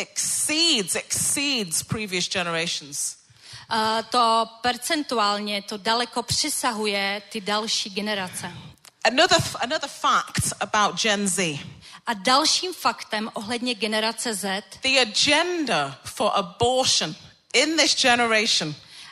exceeds previous generations. To percentuálně to daleko přesahuje ty další generace. Another fact about Gen Z. A dalším faktem ohledně generace Z, The agenda for abortion in this generation.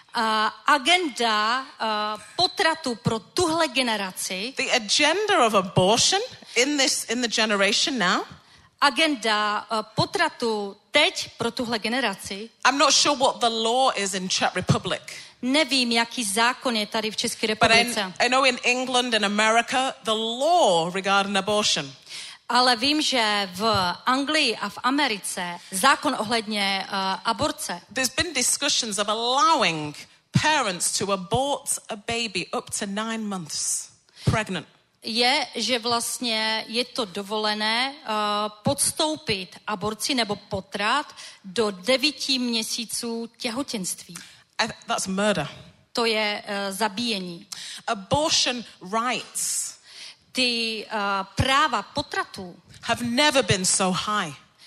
Agenda potratu pro tuhle generaci. The agenda of abortion in the generation now. Agenda potratu teď pro tuhle generaci. I'm not sure what the law is in Czech Republic. Nevím, jaký zákon je tady v České But republice. I know in England and America the law regarding abortion Ale vím, že v Anglii a v Americe zákon ohledně aborce. There's been discussions of allowing parents to abort a baby up to 9 months pregnant. Je, že vlastně je to dovolené podstoupit aborci nebo potrat do 9 měsíců těhotenství. That's murder. To je zabíjení. Abortion rights Ty práva potratů have never been so high.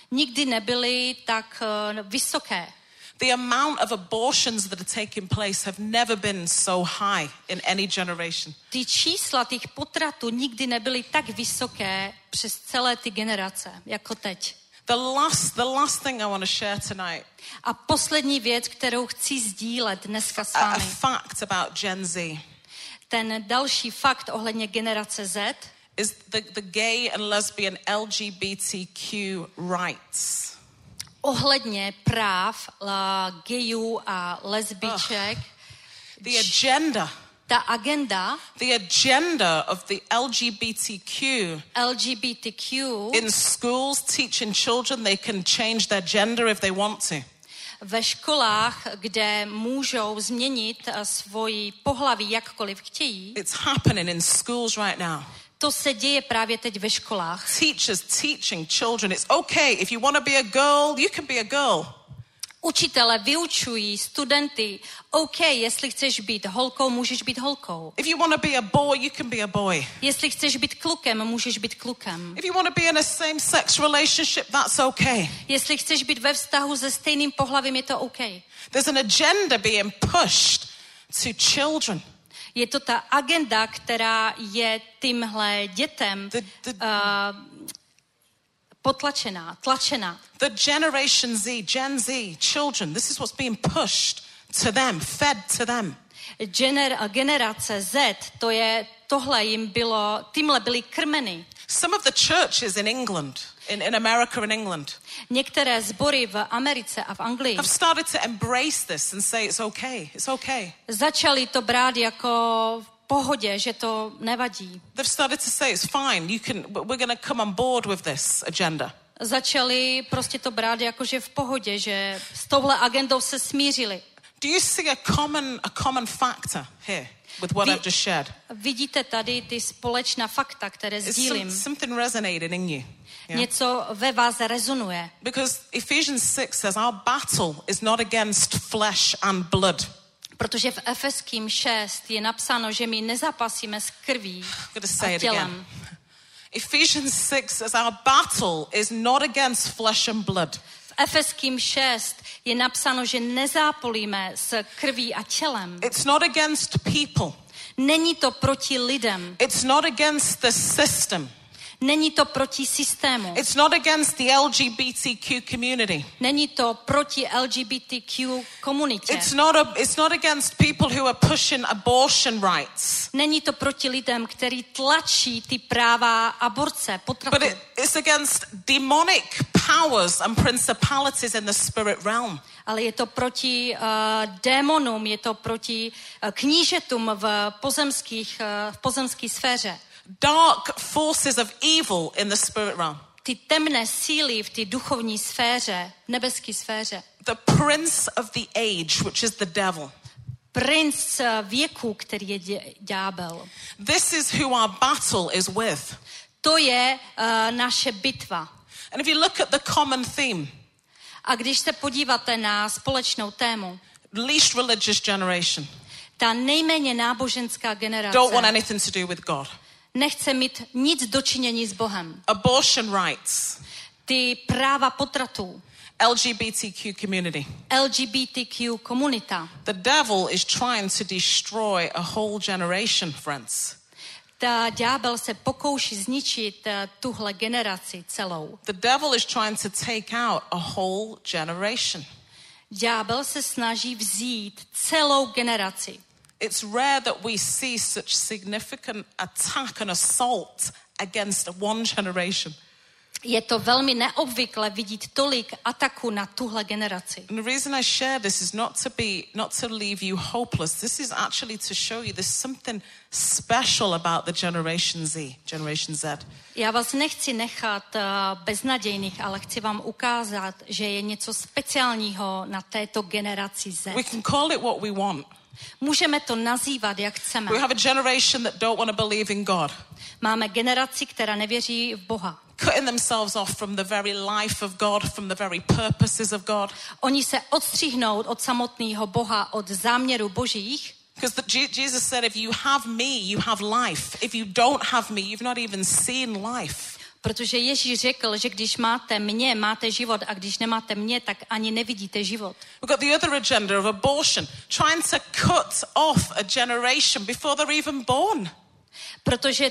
nikdy nebyly tak vysoké. The amount of abortions that are taking place have never been so high in any generation. Ty čísla těch potratů nikdy nebyly tak vysoké přes celé ty generace, jako teď. The last thing I want to share tonight. A poslední věc, kterou chci sdílet dneska s A vámi. fact about Gen Z. Ten další fakt ohledně generace Z Is the gay and lesbian LGBTQ rights. ohledně práv gayů a lesbiček. The agenda. Ta agenda The agenda of the LGBTQ in schools teaching children they can change their gender if they want to. ve školách, kde můžou změnit svoji pohlaví jakkoliv chtějí. It's happening in schools right now. To se děje právě teď ve školách. Teachers teaching children it's okay if you want to be a girl, you can be a girl. Učitelé vyučují studenty, OK, jestli chceš být holkou, můžeš být holkou. If you want to be a boy, you can be a boy. Jestli chceš být klukem, můžeš být klukem. If you want to be in a same-sex relationship, that's okay. Jestli chceš být ve vztahu se stejným pohlavím, je to OK. There's an agenda being pushed to children. Je to ta agenda, která je tímhle dětem potlačená, tlačená. The Generation Z, Gen Z, children, this is what's being pushed to them, fed to them. Generace Z, tohle jim bylo, tímhle byly krmeny. Some of the churches in England, in America and England, Některé sbory v Americe a v Anglii have started to embrace this and say it's okay, it's okay. začali to brát jako v pohodě, že to nevadí. They've started to say it's fine, we're going to come on board with this agenda. Začali prostě to brát jako, že v pohodě, že s touhle agendou se smířili. Do you see a common factor here with what I've just shared? Vidíte tady ty společná fakta, které sdílím. Something resonated in you. Yeah? Něco ve vás rezonuje. Because Ephesians 6 says our battle is not against flesh and blood. Protože v Efeským 6 je napsáno, že my nezápasíme s krví a tělem. Ephesians 6 says our battle is not against flesh and blood. V Efeským 6 je napsáno, že nezápolíme s krví a tělem. It's not against people. Není to proti lidem. It's not against the system. Není to proti systému. It's not against the LGBTQ community. Není to proti LGBTQ komunitě. It's not against people who are pushing abortion rights. Není to proti lidem, kteří tlačí ty práva aborce, potratu. But it's against demonic powers and principalities in the spirit realm. Ale je to proti démonům, je to proti knížetům v pozemské sféře. Dark forces of evil in the spirit realm. Ty temné síly v té duchovní sféře, nebeské sféře. The prince of the age, which is the devil. Princ věku, který je ďábel. This is who our battle is with. To je naše bitva. And if you look at the common theme, a když se podíváte na společnou tému, least religious generation, ta nejméně náboženská generace don't want anything to do with God. Nechce mít nic dočinění s Bohem. Abortion rights. Ty práva potratů. LGBTQ community. LGBTQ komunita. The devil is trying to destroy a whole generation, friends. Ta ďábel se pokouší zničit tuhle generaci celou. The devil is trying to take out a whole generation. Ďábel se snaží vzít celou generaci. It's rare that we see such significant attack and assault against one generation. Je to velmi neobvyklé vidět tolik ataků na tuhle generaci. And the reason I share this is not to leave you hopeless. This is actually to show you there's something special about the Generation Z. Já vás nechci nechat beznadějných, ale chci vám ukázat, že je něco speciálního na této generaci Z. We can call it what we want. Můžeme to nazývat, jak chceme. We have a generation that don't want to believe in God. Máme generaci, která nevěří v Boha. Cutting themselves off from the very life of God, from the very purposes of God. Oni se odstřihnou od samotného Boha, od záměru božích. Because Jesus said, if you have me, you have life. If you don't have me, you've not even seen life. Protože Ježíš řekl, že když máte mě, máte život a když nemáte mě, tak ani nevidíte život. We've got the other agenda of abortion, trying to cut off a generation before they're even born. Protože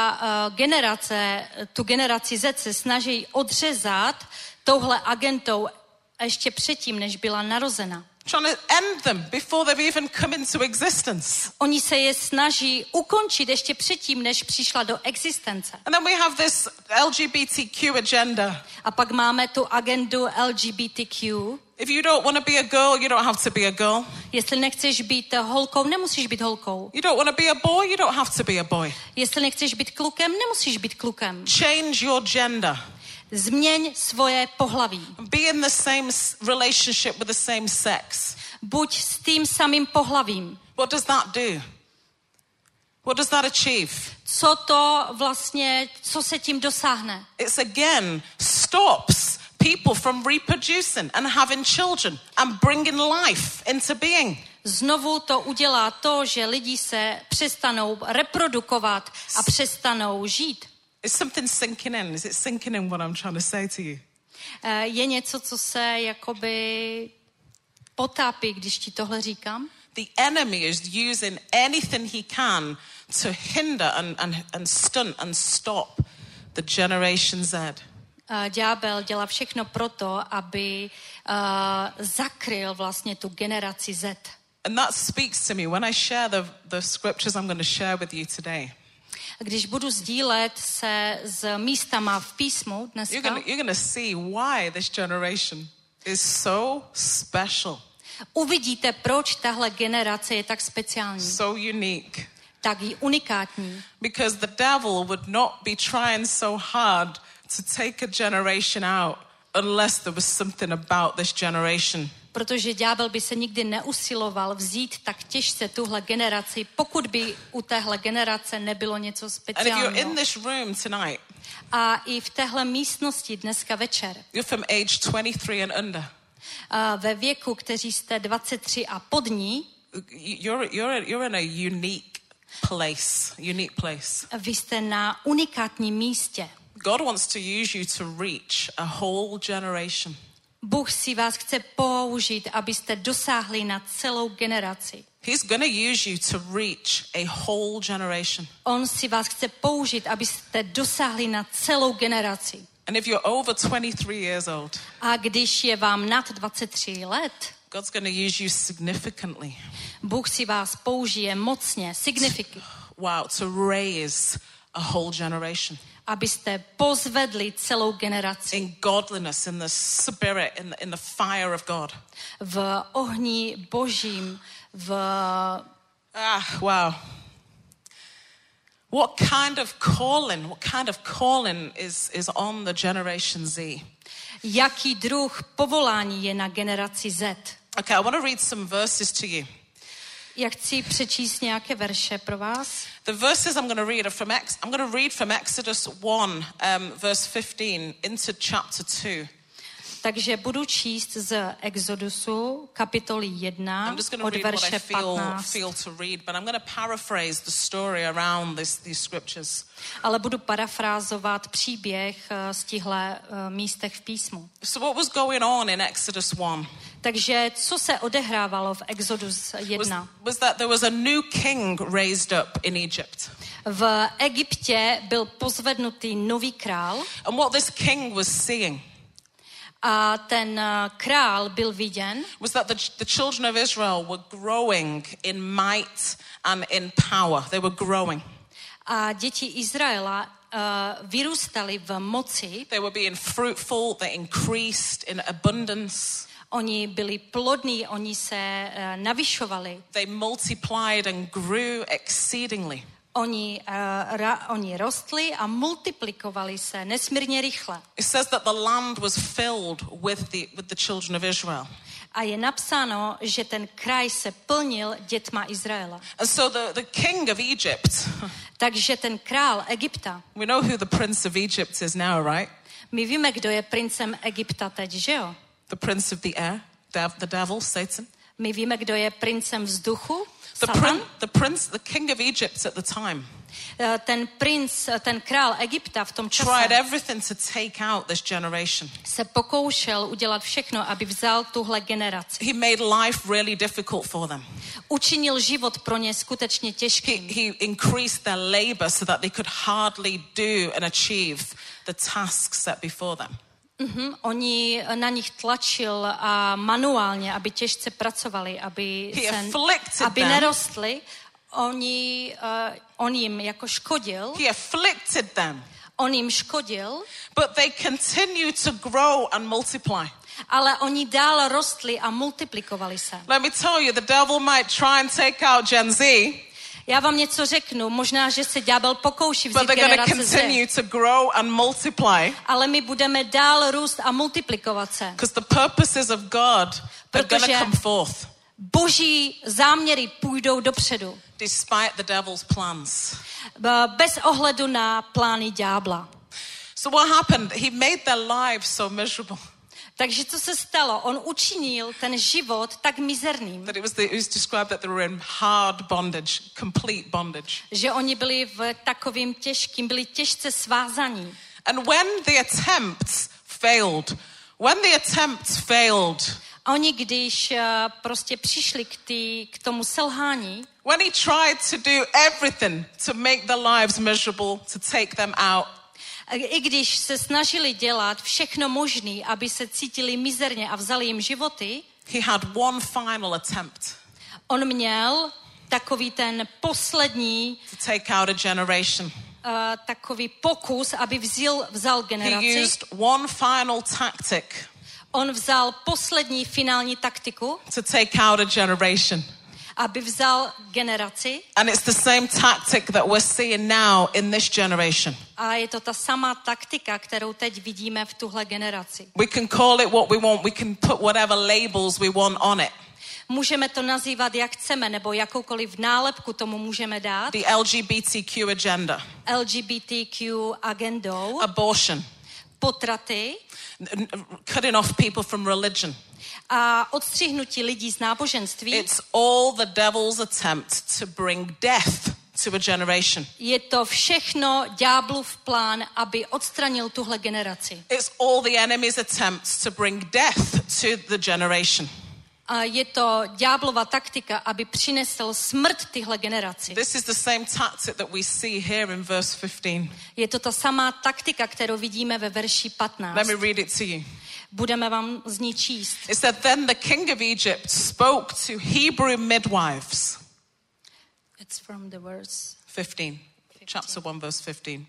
tu generaci Z se snaží odřezat touhle agentou ještě předtím, než byla narozena. Trying to end them before they've even come into existence. Oni se je snaží ukončit ještě předtím, než přišla do existence. And then we have this LGBTQ agenda. A pak máme tu agendu LGBTQ. If you don't want to be a girl, you don't have to be a girl. Jestli nechceš být holkou, nemusíš být holkou. You don't want to be a boy, you don't have to be a boy. Jestli nechceš být klukem, nemusíš být klukem. Change your gender. Změň svoje pohlaví. Be in the same relationship with the same sex. Buď s tím samým pohlavím. What does that do? What does that achieve? Co se tím dosáhne? It's again stops people from reproducing and having children and bringing life into being. Znovu to udělá to, že lidi se přestanou reprodukovat a přestanou žít. Is something sinking in? Is it sinking in what I'm trying to say to you? Je něco, co se jakoby potápí, když ti tohle říkám? The enemy is using anything he can to hinder and stunt and stop the Generation Z. Ďábel dělá všechno proto, aby zakryl vlastně tu generaci Z. And that speaks to me when I share the scriptures I'm going to share with you today. Když budu sdílet se s místama v písmu dneska, you're going to see why this generation is so special. Uvidíte, proč tahle generace je tak speciální. So unique. Tak unikátní. Because the devil would not be trying so hard to take a generation out unless there was something about this generation. Protože ďábel by se nikdy neusiloval vzít tak těžce tuhle generaci, pokud by u téhle generace nebylo něco speciálního. And if you're in this room tonight, a i v téhle místnosti dneska večer, you're from age 23 and under. Ve věku, kteří jste 23 a pod ní, you're in a unique place. Vy jste na unikátním místě. God wants to use you to reach a whole generation. Bůh si vás chce použít, abyste dosáhli na celou generaci. He's going to use you to reach a whole generation. On si vás chce použít, abyste dosáhli na celou generaci. And if you're over 23 years old, a když je vám nad 23 let, God's going to use you significantly. Bůh si vás použije mocně, signifikantně. Wow, to raise a whole generation. Abyste pozvedli celou generaci. In godliness, in the spirit, in the fire of God. V ohni Božím, wow. What kind of calling is on the Generation Z? Jaký druh povolání je na generaci Z? Okay, I want to read some verses to you. Já chci přečíst nějaké verše pro vás. The verses I'm going to read are I'm going to read from Exodus 1, verse 15 into chapter 2. Takže budu číst z Exodusu kapitoly 1 od verše 15. Feel to read, but I'm going to paraphrase the story around these scriptures. Ale budu parafrázovat příběh z těchto místech v písmu. So what was going on in Exodus 1? Takže co se odehrávalo v Exodus 1? Was that there was a new king raised up in Egypt. V Egyptě byl pozvednutý nový král. And what this king was seeing a ten král byl viděn, was that the children of Israel were growing in might and in power. They were growing. A děti Izraela vyrůstali v moci. They were being fruitful, they increased in abundance. Oni byli plodní, oni se navyšovali. They multiplied and grew exceedingly. Oni rostli a multiplikovali se nesmírně rychle. It says that the land was filled with the children of Israel. A je napsáno, že ten kraj se plnil dětma Izraela. And so the king of Egypt. Takže ten král Egypta. We know who the prince of Egypt is now, right? My víme, kdo je princem Egypta teď, že jo? The prince of the air, the devil, Satan. My víme, kdo je princem vzduchu. The king of Egypt at the time Ten král Egypta v tom tried čase everything to take out this generation. se pokoušel udělat všechno, aby vzal tuhle generaci. He made life really difficult for them. Učinil život pro ně skutečně těžkým. He increased their labor so that they could hardly do and achieve the tasks set before them. Oni na nich tlačil a manuálně, aby těžce pracovali, aby nerostli. On jim jako škodil. He afflicted them. On jim škodil. But they continued to grow and multiply. Ale oni dál rostli a multiplikovali se. Let me tell you, the devil might try and take out Gen Z. Já vám něco řeknu, možná, že se ďábel pokouší vzít But they're going to generace continue to grow and multiply. Ale my budeme dál růst a multiplikovat se. Because the purposes of God are going to come forth. Boží záměry půjdou dopředu. Despite the devil's plans. Bez ohledu na plány ďábla. So what happened? He made their lives so miserable. Takže co se stalo? On učinil ten život tak mizerným. That it was described that they were in hard bondage, complete bondage. Že oni byli v takovým těžkým, byli těžce svázaní. And when the attempts failed, a oni když prostě přišli k tomu selhání, when he tried to do everything to make their lives miserable, to take them out, i když se snažili dělat všechno možné, aby se cítili mizerně a vzali jim životy, he had one final attempt. On měl takový ten poslední to take out a generation. Takový pokus, aby vzal generaci. He used one final tactic. On vzal poslední finální taktiku. To take out a generation. Aby vzal generaci. And it's the same tactic that we're seeing now in this generation. A je to ta samá taktika, kterou teď vidíme v tuhle generaci. We can call it what we want. We can put whatever labels we want on it. Můžeme to nazývat jak chceme, nebo jakoukoliv nálepku tomu můžeme dát. The LGBTQ agenda. LGBTQ agendou. Abortion. Potraty. Cutting off people from religion. A odstřihnutí lidí z náboženství. It's all the devil's attempt to bring death to a generation. Je to všechno ďáblův plán, aby odstranil tuhle generaci. It's all the enemy's attempts to bring death to the generation. A je to ďáblova taktika, aby přinesl smrt tyhle generaci. This is the same tactic that we see here in verse 15. Je to ta samá taktika, kterou vidíme ve verši 15. Let me read it to you. Budeme vám z ní číst. It said, then the king of Egypt spoke to Hebrew midwives. It's from the verse 15. Chapter 1, verse 15.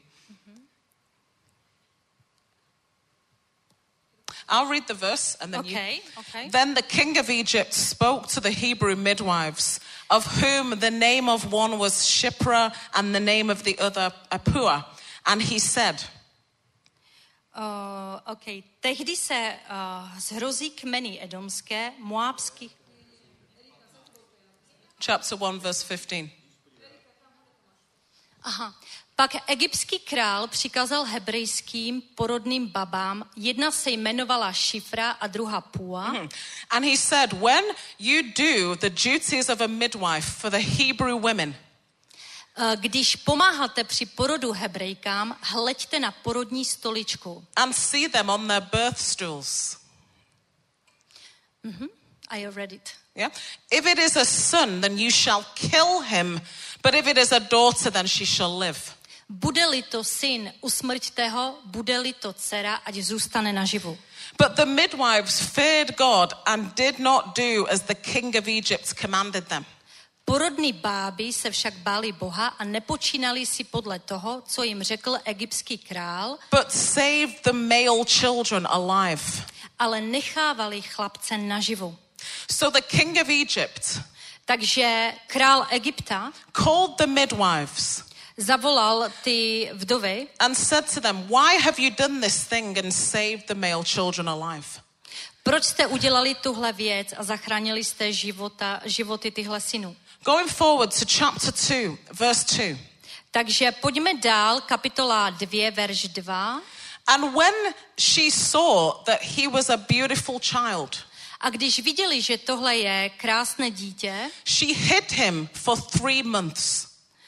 I'll read the verse and then okay. Then the king of Egypt spoke to the Hebrew midwives, of whom the name of one was Shipra and the name of the other Apua. And he said, Tehdy se zhrozí kmeny edomské, moábský. Chapter 1, verse 15. Aha. Pak egyptský král přikázal hebrejským porodným babám, jedna se jmenovala Šifra a druhá Pua. And he said, when you do the duties of a midwife for the Hebrew women, když pomáháte při porodu Hebrejkám, hleďte na porodní stoličku. And see them on their birth stools. I read it. Yeah. If it is a son, then you shall kill him, but if it is a daughter, then she shall live. Bude-li to syn, usmrťte ho, bude-li to dcera, ať zůstane naživu. But the midwives feared God and did not do as the king of Egypt commanded them. Porodní báby se však báli Boha a nepočínali si podle toho, co jim řekl egyptský král, but saved the male children alive. Ale nechávali chlapce naživu. So the king of Egypt, takže král Egypta, called the midwives, zavolal ty vdovy, and said to them, why have you done this thing and saved the male children alive? Proč jste udělali tuhle věc a zachránili jste životy tyhle synů? Going forward to chapter 2, verse 2. Takže pojďme dál, kapitola 2, verš 2. And when she saw that he was a beautiful child, A když viděli, že tohle je krásné dítě, she hid him for 3 months.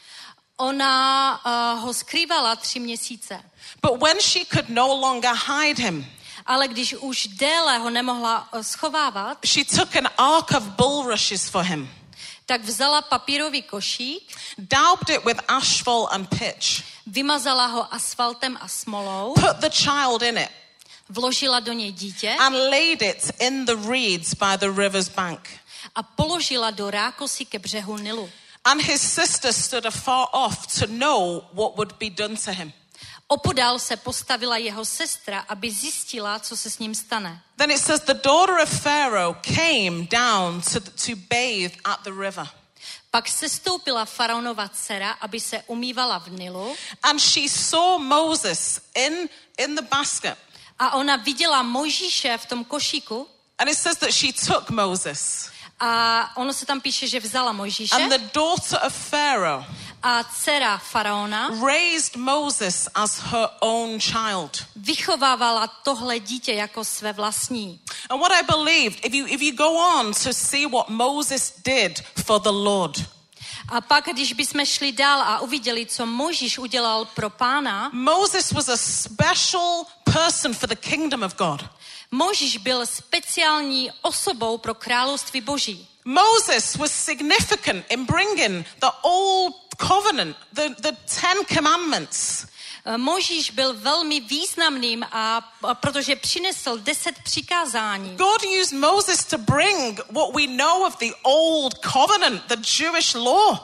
ona ho skrývala 3 měsíce. But when she could no longer hide him, Ale když už déle ho nemohla schovávat, she took an ark of bulrushes for him, tak vzala papírový košík, daubed it with asphalt and pitch, vymazala ho asfaltem a smolou, put the child in it, vložila do něj dítě and laid it in the reeds by the river's bank. a položila do rákosy ke břehu Nilu. And his sister stood afar off to know what would be done to him. Opodál se postavila jeho sestra, aby zjistila, co se s ním stane. Then it says the daughter of Pharaoh came down to bathe at the river. Pak sestoupila faraonova dcera, aby se umývala v Nilu, And she saw Moses in the basket. a ona viděla Mojžíše v tom košíku And it says that she took Moses. a ono se tam píše, že vzala Mojžíše And the daughter of Pharaoh a dcera faraona raised Moses as her own child. vychovávala tohle dítě jako své vlastní. And what I believed, if you go on to see what Moses did for the Lord, A pak, když bychom šli dál a uviděli, co Mojžíš udělal pro Pána, Moses was a special person for the kingdom of God. Mojžíš byl speciální osobou pro království Boží. Moses was significant in bringing the old covenant, the 10 commandments. Mojžíš byl velmi významným, protože přinesl 10 přikázání. God used Moses to bring what we know of the old covenant, the Jewish law.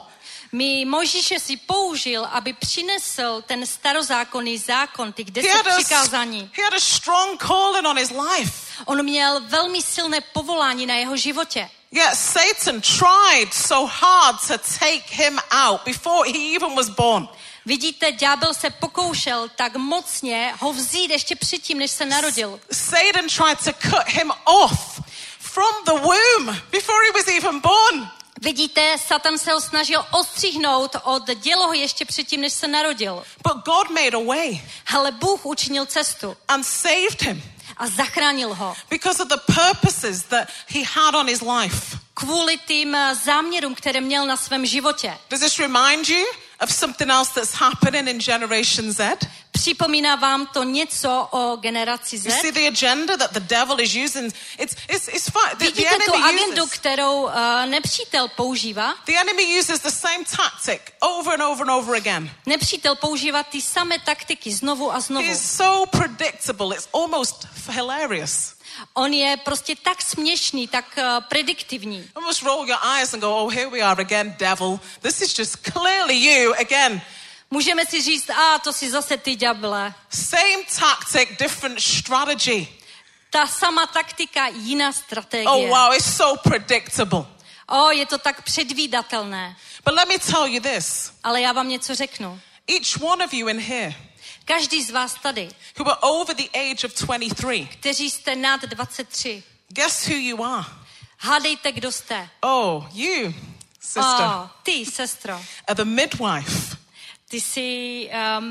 Mojžíše si použil, aby přinesl ten starozákonný zákon, těch 10 přikázání. He had a strong calling on his life. On měl velmi silné povolání na jeho životě. Yet Satan tried so hard to take him out before he even was born. Vidíte, ďábel se pokoušel tak mocně ho vzít ještě předtím, než se narodil. Satan tried to cut him off from the womb before he was even born. Vidíte, Satan se ho snažil odstřihnout od dělohy ještě předtím, než se narodil. But God made a way Ale Bůh učinil cestu and saved him a zachránil ho. because of the purposes that he had on his life. Kvůli tým záměrům, které měl na svém životě. Does this remind you of something else that's happening in Generation Z? Připomíná vám to něco o generaci Z? You see the agenda that the devil is using? It's fine. The Vidíte tu enemy agendu, uses. kterou nepřítel používá? The enemy uses the same tactic over and over and over again. Nepřítel používá ty samé taktiky znovu a znovu. He's so predictable. It's almost hilarious. On je prostě tak směšný, tak prediktivní. Almost roll your eyes and go, oh, here we are again, devil. This is just clearly you again. Můžeme si říct, to si zase ty ďáble. Same tactic, different strategy. Ta sama taktika, jiná strategie. Oh, wow, it's so predictable. Je to tak předvídatelné. But let me tell you this. Ale já vám něco řeknu. Each one of you in here Každý z vás tady, who are over the age of 23, kteří jste nad 23, guess who you are? hádejte, kdo jste. Oh, you, sister, Ty, sestro. are the midwife. Ty jsi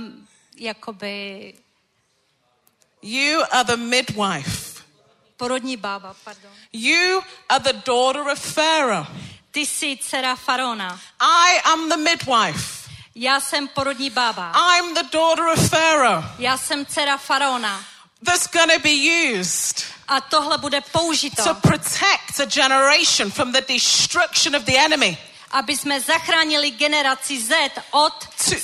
jakoby You are the midwife. porodní bába, pardon. You are the daughter of Pharaoh. Ty jsi dcera faraona. I am the midwife. Já jsem porodní bába. I'm the daughter of Pharaoh. Já jsem dcera faraona. That's going to be used A tohle bude použito, to protect a generation from the destruction of the enemy. aby jsme zachránili generaci Z od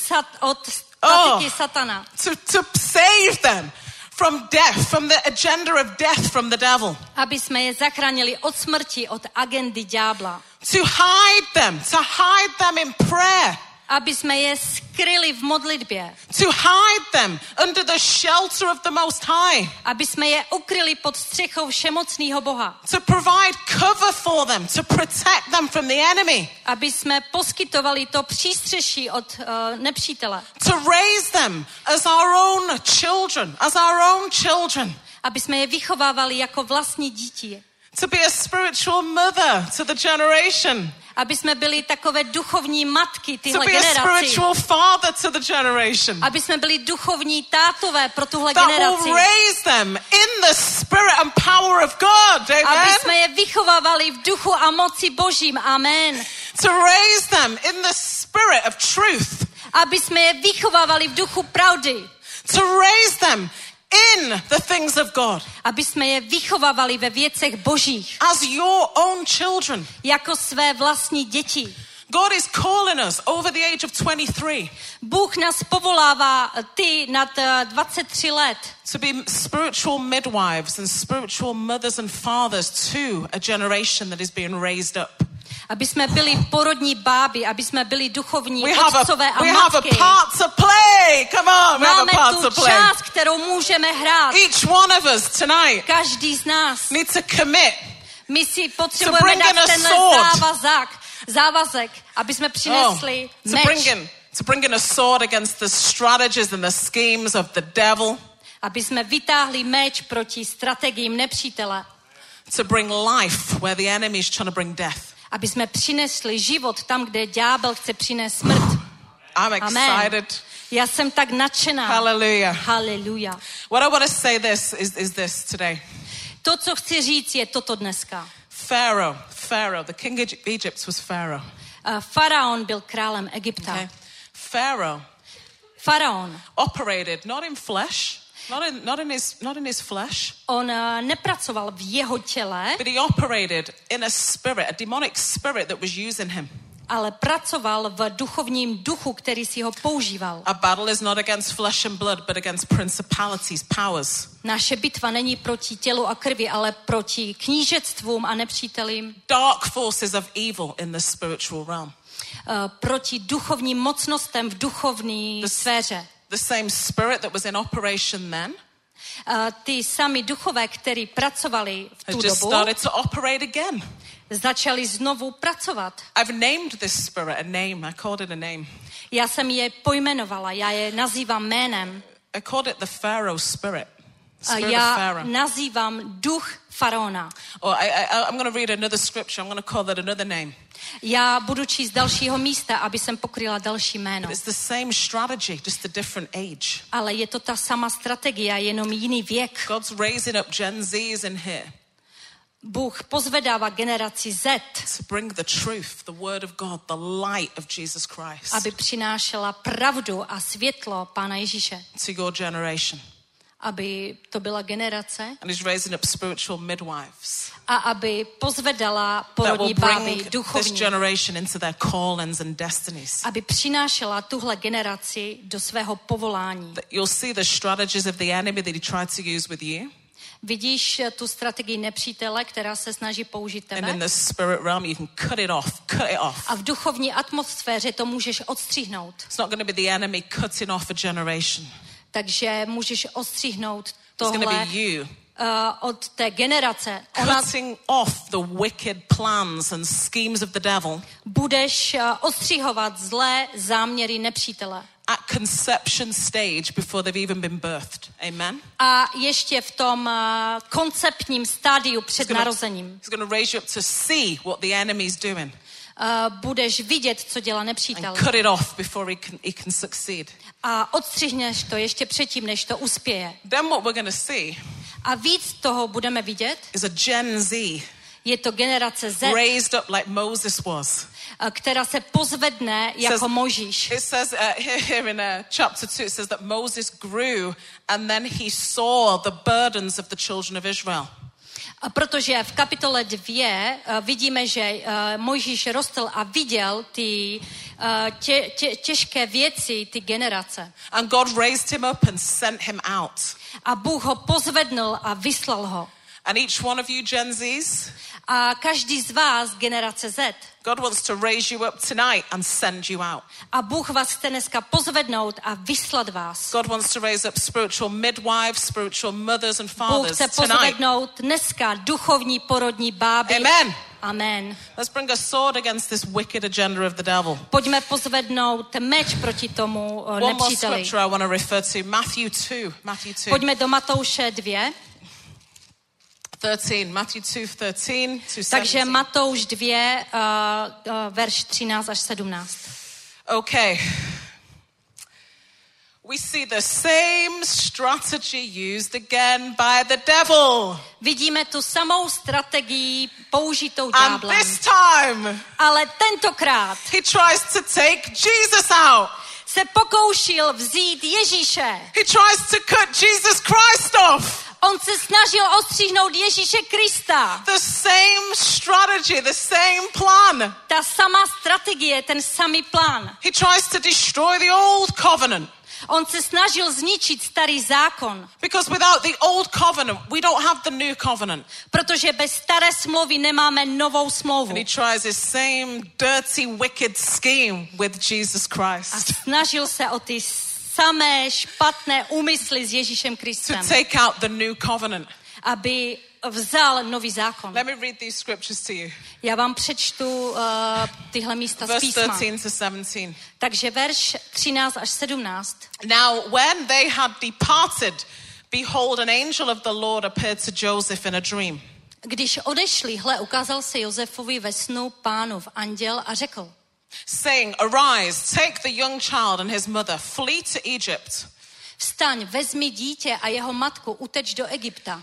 statiky satana. To save them from death, from the agenda of death from the devil. Aby jsme je zachránili od smrti, od agendy ďábla. To hide them in prayer. Aby jsme je skryli v modlitbě. To hide them under the shelter of the Most High. Aby jsme je ukryli pod střechou všemocného Boha. To provide cover for them, to protect them from the enemy. Aby jsme poskytovali to přístřeší od nepřítele. To raise them as our own children. Aby jsme je vychovávali jako vlastní děti. To be a spiritual mother to the generation. Aby jsme byli takové duchovní matky To tyhle be a generaci. spiritual father to the generation. Aby jsme byli duchovní tátové pro tuhle That generaci. will raise them in the spirit and power of God. Aby Amen. jsme je vychovávali v duchu a moci Božím. Amen. To raise them in the spirit of truth. Aby jsme je vychovávali v duchu pravdy. To raise them in the things of God. Aby jsme je vychovávali ve věcech božích. As your own children. Jako své vlastní děti. God is calling us over the age of 23. Bůh nás povolává ty nad 23 let. To be spiritual midwives and spiritual mothers and fathers to a generation that is being raised up. Aby jsme byli porodní báby, aby jsme byli duchovní We have otcové a a matky. part to play. Come on, we have Máme a part tu to play. část, kterou můžeme hrát. Each one of us tonight Každý z nás. need to commit. My si To potřebujeme bring in dát a tenhle sword. závazek, aby jsme přinesli to bring in a sword against the strategies and the schemes of the devil. Aby jsme vytáhli meč proti strategiím nepřítele. To bring life where the enemy is trying to bring death. Aby jsme přinesli život tam, kde ďábel chce přinést smrt. I'm excited. Amen. Já jsem tak nadšená. Hallelujah. Hallelujah. What I want to say is this today. To, co chci říct, je toto dneska. Pharaoh, the king of Egypt was Pharaoh. Faraon byl králem Egypta. Okay. Faraon operated not in flesh, not in his flesh. On nepracoval v jeho těle, But he operated in a spirit, a demonic spirit that was using him. ale pracoval v duchovním duchu, který si ho používal. Our battle is not against flesh and blood, but against principalities, powers. Naše bitva není proti tělu a krvi, ale proti knížectvům a nepřítelím. Dark forces of evil in the spiritual realm. Proti duchovním mocnostem v duchovní sféře. The same spirit that was in operation then Ty sami duchové, kteří pracovali v tu has just dobu, started to operate again. začali znovu pracovat. I've named this spirit a name. I called it a name. Já jsem je pojmenovala, já je nazývám jménem. I called it the Pharaoh spirit. Spirit of Já Pharaoh. nazývám duch faraona. Or I'm going to read another scripture. I'm going to call that another name. Já budu číst dalšího místa, aby jsem pokryla další jméno. But it's the same strategy, just a different age. Ale je to ta sama strategie, jenom jiný věk. God's raising up Gen Zs in here Bůh pozvedává generaci Z, to bring the truth, the word of God, the light of Jesus Christ aby přinášela pravdu a světlo Pána Ježíše. to your generation. Aby to byla generace And he's raising up spiritual midwives a aby pozvedala that will porodní báby bring this duchovní. generation into their callings and destinies. Aby přinášela tuhle generaci do svého povolání. That you'll see the strategies of the enemy that he tried to use with you. Vidíš tu strategii nepřítele, která se snaží použít And in tebe? the spirit realm, you can cut it off. A v duchovní atmosféře to můžeš odstřihnout. It's not going to be the enemy cutting off a generation. Takže můžeš odstřihnout It's going to tohle be you od té generace. cutting off the wicked plans and schemes of the devil Budeš odstřihovat zlé záměry nepřítele. at conception stage before they've even been birthed. Amen. A ještě v tom konceptním stádiu před narozením. He's going to raise you up to see what the enemy's doing Budeš vidět, co dělá nepřítel. and cut it off before he can succeed. A odstřihneš to ještě předtím, než to uspěje. Then what we're going to see A víc toho budeme vidět. is a Gen Z Je to generace Z, raised up like Moses was. která se pozvedne jako Mojžíš. It says here in chapter 2, it says that Moses grew and then he saw the burdens of the children of Israel. A protože v kapitole 2 vidíme, že Mojžíš rostl a viděl ty těžké věci, ty generace. And God raised him up and sent him out. A Bůh ho pozvednul a vyslal ho. And each one of you Gen Zs, A každý z vás, generace Z, God wants to raise you up tonight and send you out. a Bůh vás chce dneska pozvednout a vyslat vás. God wants to raise up spiritual midwives, spiritual mothers and Bůh fathers chce tonight. pozvednout dneska duchovní porodní báby. Amen. Amen. Let's bring a sword against this wicked agenda of the devil. Pojďme pozvednout meč proti tomu One more nepříteli. scripture I want to refer to, Matthew 2. Pojďme do Matouše 2. 13, Matthew 2:13 to 17. Takže Matouš 2, verš 13 až 17. Okay. We see the same strategy used again by the devil. Vidíme tu samou strategii použitou And ďáblem. this time, Ale tentokrát he tries to take Jesus out. se pokoušel vzít Ježíše. He tries to cut Jesus Christ off. On se snažil ostříhnout Ježíše Krista. The same strategy, the same plan. Ta sama strategie, ten samý plán. He tries to destroy the old covenant. On se snažil zničit starý zákon. Because without the old covenant, we don't have the new covenant. Protože bez staré smlouvy nemáme novou smlouvu. And he tries his same dirty, wicked scheme with Jesus A Christ snažil se o ty samé špatné úmysly s Ježíšem to Kristem, take out the new covenant. aby vzal nový zákon. Let me read these scriptures to you. Já vám přečtu tyhle místa z Verse písma. 13 to 17. Takže verš 13 až 17. Now, when they had departed, behold, an angel of the Lord appeared to Joseph in a dream. Když odešli, hle, ukázal se Josefovi ve snu Pánův anděl a řekl, saying, Arise, take the young child and his mother, flee to Egypt, vstaň, vezmi dítě a jeho matku, uteč do Egypta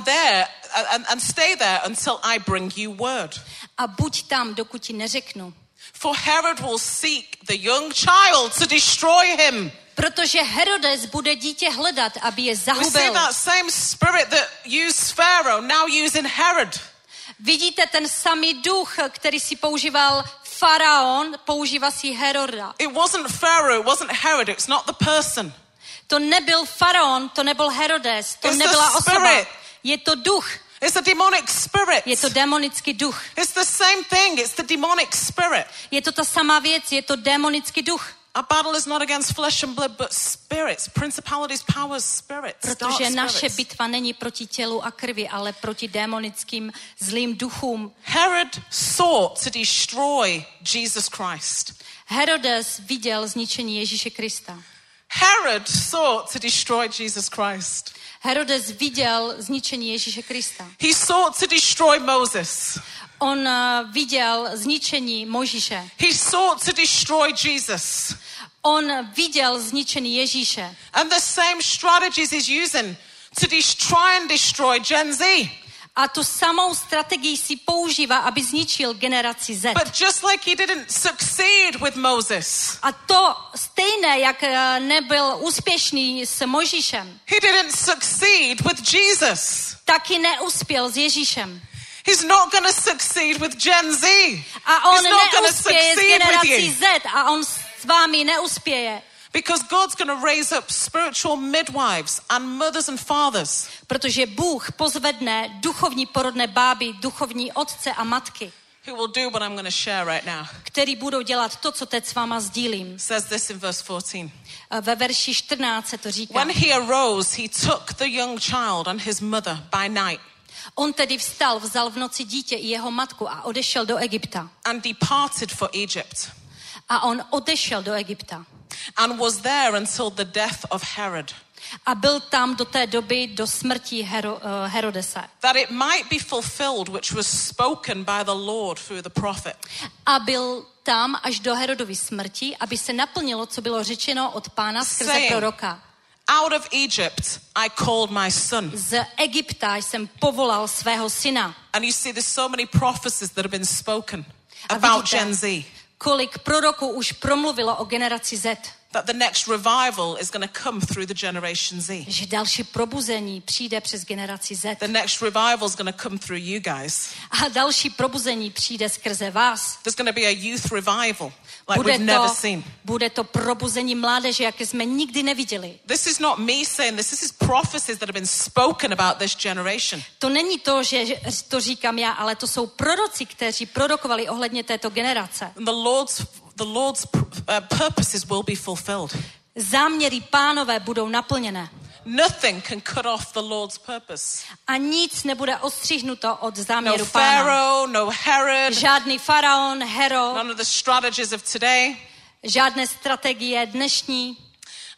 and stay there until I bring you word. a buď tam, dokud ti neřeknu. For Herod will seek the young child to destroy him. Protože Herodes bude dítě hledat, aby je We see zahubil. that same spirit that used Pharaoh, now using Herod. Vidíte ten samý duch, který si používal faraon, používá si Heroda. It wasn't Pharaoh, it wasn't Herod, it's not the person. To nebyl faraon, to nebyl Herodes, to It's the nebyla osoba. spirit. Je to duch, It's a demonic spirit. je to démonický duch. It's the same thing, it's the demonic spirit. Je to ta samá věc, je to démonický duch. Our battle is not against flesh and blood, but spirits, principalities, powers, spirits, dark Protože naše spirits. bitva není proti tělu a krvi, ale proti démonickým zlým duchům. Herod sought to destroy Jesus Christ. Herodes viděl zničení Ježíše Krista. Herod sought to destroy Jesus Christ. Herodes viděl zničení Ježíše Krista. He sought to destroy Moses. On viděl zničení Mojžíše. He sought to destroy Jesus. On viděl zničení Ježíše. And the same strategies he's using to try and destroy Gen Z. A tu samou strategii si používá, aby zničil generaci Z. But just like he didn't succeed with Moses, A to stejné, jak nebyl úspěšný s Mojžíšem, he didn't succeed with Jesus. taky neuspěl s Ježíšem. He's not going to succeed with Gen Z. A on He's not going to neuspěje s succeed with generací you. Z a on s vámi neuspěje. Because God's going to raise up spiritual midwives and mothers and fathers Protože Bůh pozvedne duchovní porodné báby, duchovní otce a matky, who will do what I'm going to share right now. který budou dělat to, co teď s váma sdílím. It says this in verse 14. Ve verši 14 se to říká. When he arose, he took the young child and his mother by night On tedy vstal, vzal v noci dítě i jeho matku a odešel do Egypta. and departed for Egypt A on odešel do Egypta. and was there until the death of Herod, A byl tam do té doby, do smrti Herodese. that it might be fulfilled which was spoken by the Lord through the prophet. A byl tam až do Herodovy smrti, aby se naplnilo, co bylo řečeno od Pána skrze Saying, proroka. Out of Egypt I called my son. Z Egypta jsem povolal svého syna. And you see there's so many prophecies that have been spoken A about vidíte, Gen Z. kolik proroků už promluvilo o generaci Z. That the next revival is going to come through the generation Z. Že další probuzení přijde přes generaci Z. The next revival is going to come through you guys. A další probuzení přijde skrze vás. There's going to be a youth revival like we've never seen. Bude to probuzení mládeže, jaké jsme nikdy neviděli. This is not me saying this. This is prophecies that have been spoken about this generation. To není to, že to říkám já, ale to jsou proroci, kteří prorokovali ohledně této generace. And the Lord's purposes will be fulfilled. Záměry Pánové budou naplněné. Nothing can cut off the Lord's purpose. A nic nebude ostříhnuto od No záměru Pána. Pharaoh, no Herod, Žádný faraon, Herod, none of the strategies of today. žádné strategie dnešní.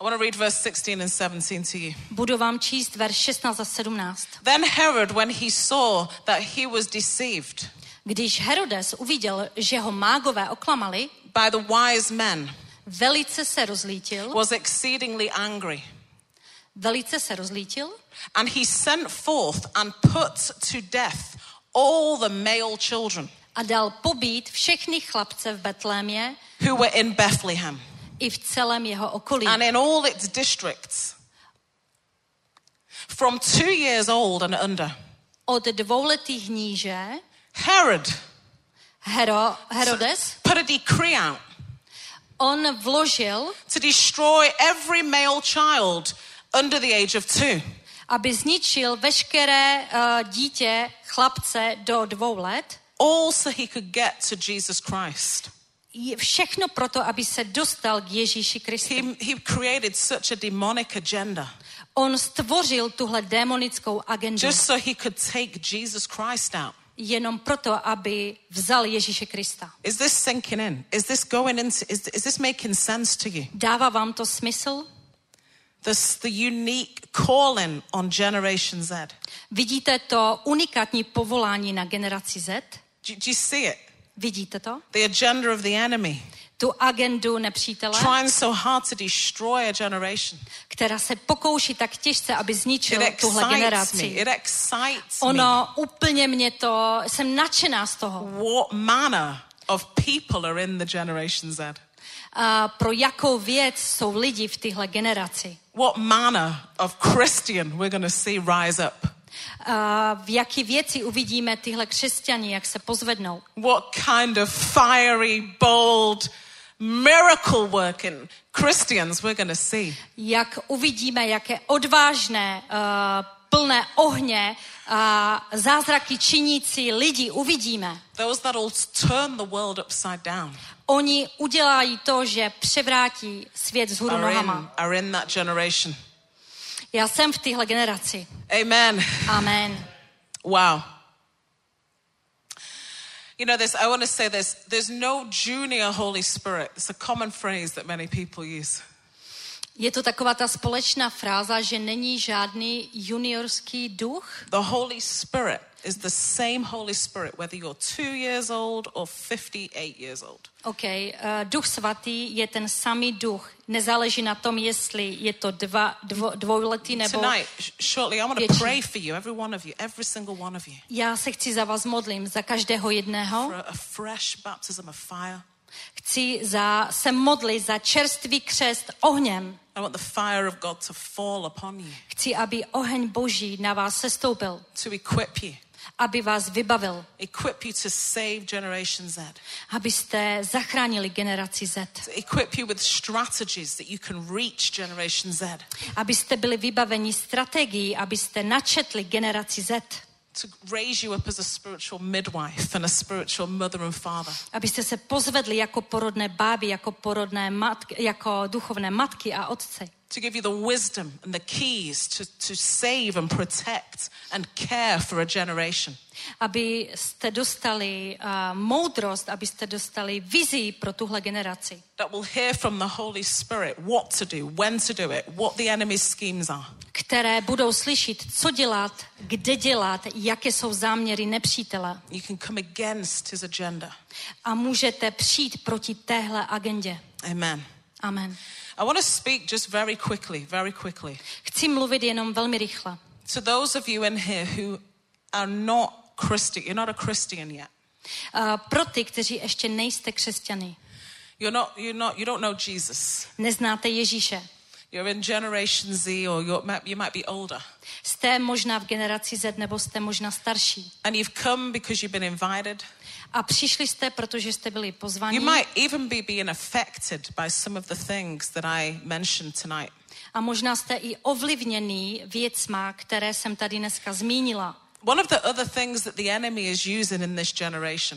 I want to read verse 16 and 17 to you. Budu vám číst verš 16 a 17. Then Herod, when he saw that he was deceived Když Herodes uviděl, že ho mágové oklamali, by the wise men, velice se rozlítil. was exceedingly angry. Velice se rozlítil And he sent forth and put to death all the male children a dal pobít všechny chlapce v Betlémě who were in Bethlehem i v celém jeho okolí. and in all its districts, from 2 years old and under. Od dvouletých níže Herodes, put a decree out on vložil, to destroy every male child under the age of 2. aby zničil veškeré dítě, chlapce do 2 let. All so he could get to Jesus Christ. Všechno proto, aby se dostal k Ježíši Kristu. He created such a demonic agenda. On stvořil tuhle démonickou agendu. Just so he could take Jesus Christ out. Jenom proto, aby vzal Ježíše Krista. Is this sinking in? Is this going into, is this making sense to you? Dává vám to smysl? The unique calling on Generation Z. Vidíte to unikátní povolání na generaci Z? Do you see it? Vidíte to? The agenda of the enemy. Tu agendu nepřítele, Trying so hard to destroy a generation. která se pokouší tak těžce, aby zničil It tuhle excites me. generaci. It excites Ono úplně mě to, jsem nadšená z toho. me. What manner of people are in the Generation Z? A pro jakou věc jsou lidi v téhle generaci? What manner of Christian we're going to see rise up? A v jaký věci uvidíme tyhle křesťani, jak se pozvednou? What kind of fiery, bold, miracle working Christians we're going to see? Jak uvidíme, jaké odvážné, plné ohně a zázraky činící lidi uvidíme. Those that will turn the world upside down Oni udělají to, že převrátí svět vzhůru nohama. are in that generation. Já jsem v téhle generaci. Amen. Amen. Wow. You know, I want to say this. There's no junior Holy Spirit. It's a common phrase that many people use. Je to taková ta společná fráza, že není žádný juniorský duch. The Holy Spirit is the same Holy Spirit, whether you're 2 years old or 58 years old. Duch svatý je ten samý duch. Nezáleží na tom, jestli je to dvouletý nebo Tonight, shortly, I want to pray for you, every one of you, every single one of you. Já se chci za vás modlím, za každého jedného. For a fresh baptism of fire. Chci se modlit za čerstvý křest ohněm. I want the fire of God to fall upon you. Chci, aby oheň Boží na vás sestoupil. To equip you. Aby vás vybavil. Equip you to save Generation Z. Abyste zachránili generaci Z. To equip you with strategies that you can reach Generation Z. Abyste byli vybaveni strategií, abyste načetli generaci Z. To raise you up as a spiritual midwife and a spiritual mother and father. Abyste se pozvedli jako porodné báby, jako porodné matky, jako duchovné matky a otci. To give you the wisdom and the keys to save and protect and care for a generation. Abyste dostali moudrost, abyste dostali vizi pro tuhle generaci. That will hear from the Holy Spirit what to do, when to do it, what the enemy's schemes are. Které budou slyšet, co dělat, kde dělat, jaké jsou záměry nepřítele. You can come against his agenda. A můžete přijít proti téhle agendě. Amen. Amen. I want to speak just very quickly. Chci mluvit jenom velmi rychle. To those of you in here who are not Christian, you're not a Christian yet. Pro ty, kteří ještě nejste křesťany. You don't know Jesus. Neznáte Ježíše. You're in Generation Z or you might be older. Jste možná v generaci Z nebo jste možná starší. And you've come because you've been invited. A přišli jste, protože jste byli pozvaní. You might even be being affected by some of the things that I mentioned tonight. A možná jste i ovlivněný věcma, které jsem tady dneska zmínila. One of the other things that the enemy is using in this generation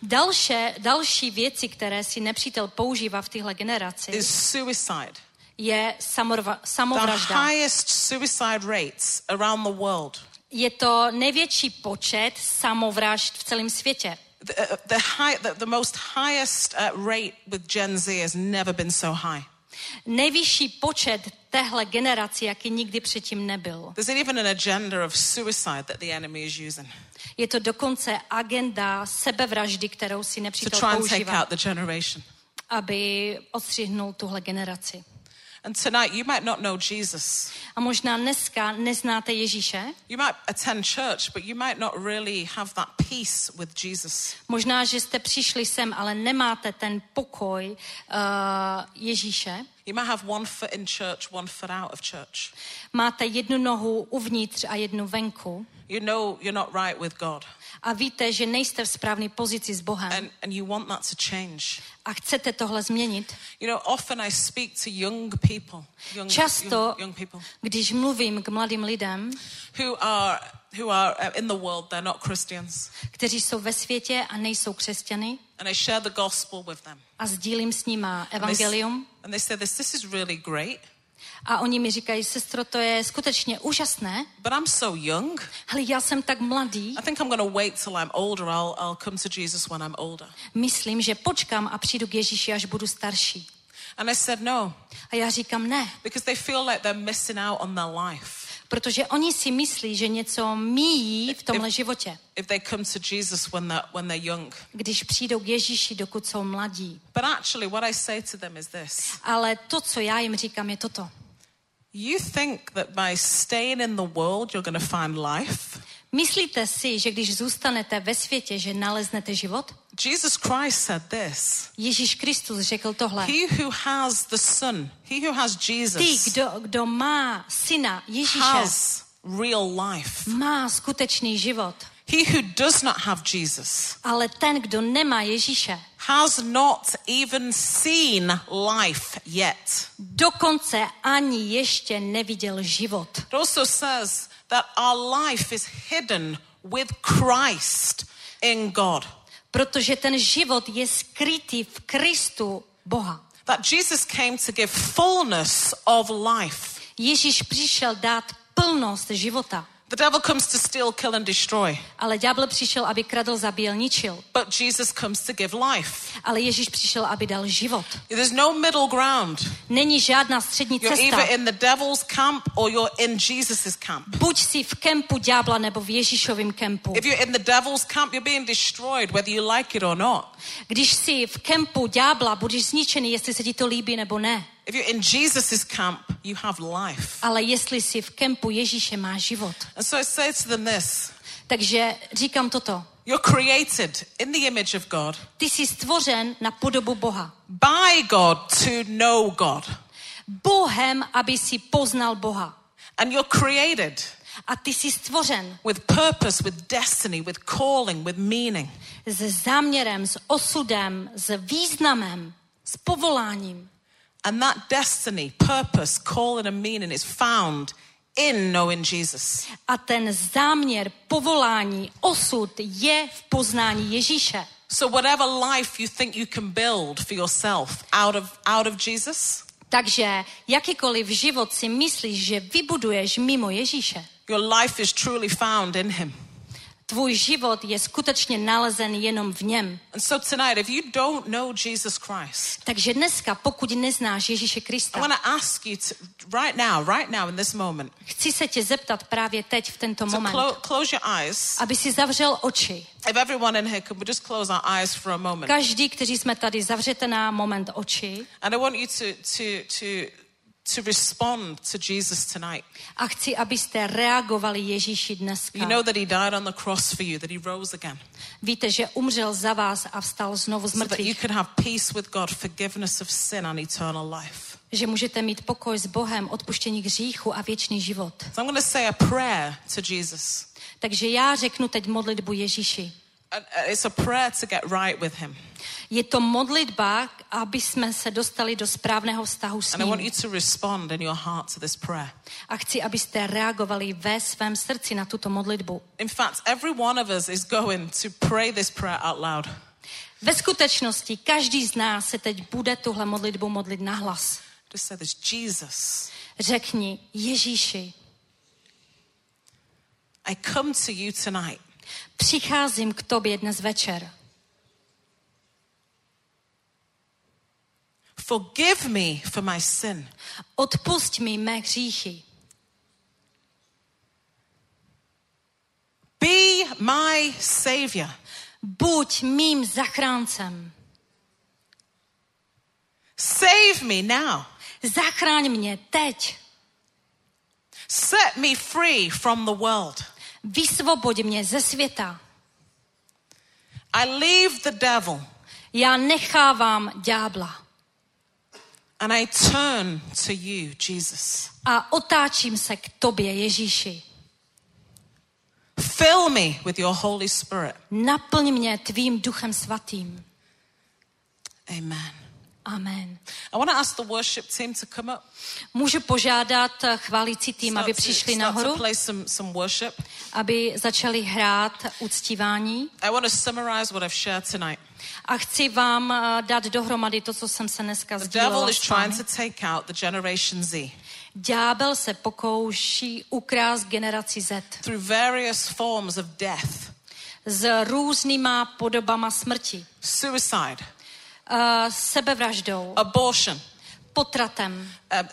Další věci, které si nepřítel používá v téhle generaci, is suicide. Je samovražda. The highest suicide rates around the world. Je to největší počet samovražd v celém světě. The most highest rate with Gen Z has never been so high. nejvyšší počet téhle generaci, jaký nikdy předtím nebyl. There's even an agenda of suicide that the enemy is using Je to dokonce agenda sebevraždy, kterou si to nepřítel try and take používá, out the generation. aby odstřihnul tuhle generaci. And tonight you might not know Jesus. A možná dneska neznáte Ježíše, You might attend church, but you might not really have that peace with Jesus. možná, že jste přišli sem, ale nemáte ten pokoj Ježíše. You might have one foot in church, one foot out of church. Máte jednu nohu uvnitř a jednu venku. You know you're not right with God. A víte, že nejste v správné pozici s Bohem. And you want that to change. A chcete tohle změnit. You know, often I speak to young people. Často, young people když mluvím k mladým lidem, who are in the world, they're not Christians. kteří jsou ve světě a nejsou křesťany, And I share the gospel with them. a sdílím s nima evangelium. And they say this is really great. A oni mi říkají, sestro, to je skutečně úžasné, But I'm so young. ale já jsem tak mladý, I think I'm going to wait till I'm older. I'll come to Jesus when I'm older. myslím, že počkám a přijdu k Ježíši, až budu starší. And I said no, A já říkám ne, because they feel like they're missing out on their life protože oni si myslí, že něco míjí v tomhle životě, if they come to Jesus when they're young. když přijdou k Ježíši, dokud jsou mladí. But actually, what I say to them is this. Ale to, co já jim říkám, je toto. You think that by staying in the world, you're going to find life? Myslíte si, že když zůstanete ve světě, že naleznete život? Jesus Christ said this. Ježíš Kristus řekl tohle. He who has the Son, he who has Jesus, Ty, kdo má syna Ježíše, has real life. má skutečný život. He who does not have Jesus Ale ten, kdo nemá Ježíše, has not even seen life yet. dokonce ani ještě neviděl život. It also says that our life is hidden with Christ in God. Protože ten život je skrytý v Kristu Boha. That Jesus came to give fullness of life. Ježíš přišel dát plnost života. The devil comes to steal, kill and destroy. Ale ďábel přišel, aby kradl, zabíjel, ničil. But Jesus comes to give life. Ale Ježíš přišel, aby dal život. There's no middle ground. Není žádná střední You're cesta. either in the devil's camp or you're in Jesus's camp. Buď jsi v kempu ďábla nebo v Ježíšovém kempu. If you're in the devil's camp, you're being destroyed whether you like it or not. Když jsi v kempu ďábla, budeš zničený, jestli se ti to líbí nebo ne. If you're in Jesus's camp, you have life. Ale jestli jsi v kempu Ježíše, máš život. And so I say to them this. Takže říkám toto. You're created in the image of God. Ty jsi stvořen na podobu Boha. By God to know God. Bohem, aby si poznal Boha. And you're created A ty jsi stvořen with purpose, with destiny, with calling, with meaning. s záměrem, s osudem, s významem, s povoláním. And that destiny, purpose, calling and meaning is found in knowing Jesus. A ten záměr, povolání, osud je v poznání Ježíše. So whatever life you think you can build for yourself out of Jesus, Takže jakýkoliv život si myslíš, že vybuduješ mimo Ježíše, your life is truly found in him. tvůj život je skutečně nalezen jenom v něm. And so tonight, if you don't know Jesus Christ, Takže dneska, pokud neznáš Ježíše I Krista, want to ask you to, right now in this moment, chci se tě zeptat právě teď v tento to moment, close your eyes. aby si zavřel oči. If everyone in here could we just close our eyes for a moment. Každý, kteří jsme tady, zavřete na moment oči And I want you to respond to Jesus tonight. a chci, abyste reagovali Ježíši dneska. You know that he died on the cross for you, that he rose again, Víte, že umřel za vás a vstal znovu z so that you mrtvých. can have peace with God, forgiveness of sin and eternal life. Že můžete mít pokoj s Bohem, odpuštění hříchu a věčný život. So I'm going to say a prayer to Jesus. Takže já řeknu teď modlitbu Ježíši. And it's a prayer to get right with him. Je to modlitba, aby jsme se dostali do správného vztahu s And I want ním. you to respond in your heart to this prayer. A chci, abyste reagovali ve svém srdci na tuto modlitbu. In fact, every one of us is going to pray this prayer out loud. Ve skutečnosti každý z nás se teď bude tuhle modlitbu modlit nahlas. Just say this, Jesus, Řekni, Ježíši, I come to you tonight. přicházím k tobě dnes večer. Forgive me for my sin. Odpusť mi mé hříchy. Be my savior. Buď mým zachráncem. Save me now. Zachráň mě teď. Set me free from the world. Vysvoboď mě ze světa. I leave the devil. Já nechávám ďábla. And I turn to you, Jesus. A otáčím se k tobě, Ježíši. Fill me with your Holy Spirit. Naplň mě tvým Duchem Svatým. Amen. Amen. I want to ask the worship team to come up. Můžu požádat chválící tým, aby přišli nahoru, play some worship. aby začali hrát uctívání. I want to summarize what I've shared tonight. A chci vám dát dohromady to, co jsem se dneska The sdílela devil is s vámi. trying to take out the Generation Z Ďábel se pokouší ukrást generaci Z through various forms of death, s různýma podobama smrti. suicide, Sebevraždou, abortion, potratem,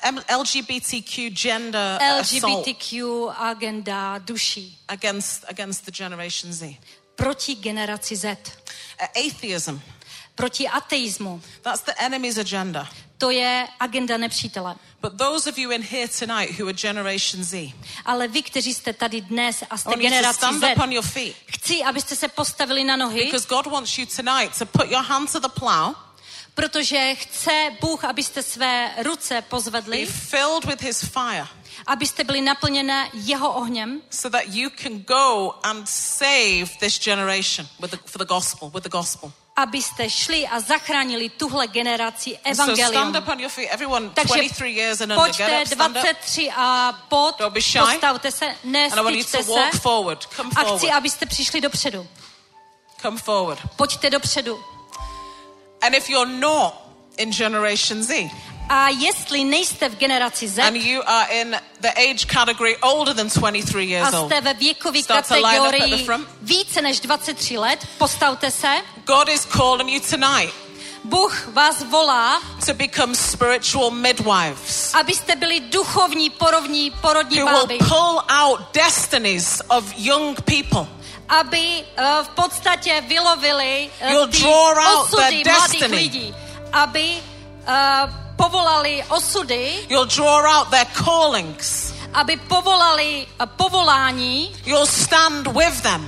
LGBTQ gender assault LGBTQ agenda duší against the Generation Z, proti generaci Z, atheism. proti ateismu. That's the enemy's agenda. To je agenda nepřítele. But those of you in here tonight who are Generation Z, Ale vy, kteří jste tady dnes a I jste want you to generací stand Z, up on your feet, chci, abyste se postavili na nohy, because God wants you tonight to put your hand to the plow, protože chce Bůh, abyste své ruce be pozvedli, filled with his fire, abyste byli naplněné jeho ohněm, so that you can go and save this generation with the gospel. abyste šli a zachránili tuhle generaci So stand evangelium. up on your feet. Everyone Takže 23 years and under, pojďte get up, stand up. 23 a pod, Don't be shy. postavte se, And I want you nestyďte to se walk forward. Come a chci, forward. abyste přišli dopředu. Come forward. Pojďte dopředu. And if you're not in Generation Z, A jestli nejste v generaci Z and you are in the age category older than 23 a years old, jste ve věkové start to line up at the kategorii front. více než 23 let, postavte se. God is calling you tonight Bůh vás volá, to become spiritual midwives abyste byli duchovní porodní who báby. will pull out destinies of young people. Aby v podstatě vylovili You'll ty draw out osudy their mladých destiny. lidí. Aby povolali osudy, You'll draw out their callings. aby povolali povolání You'll stand with them.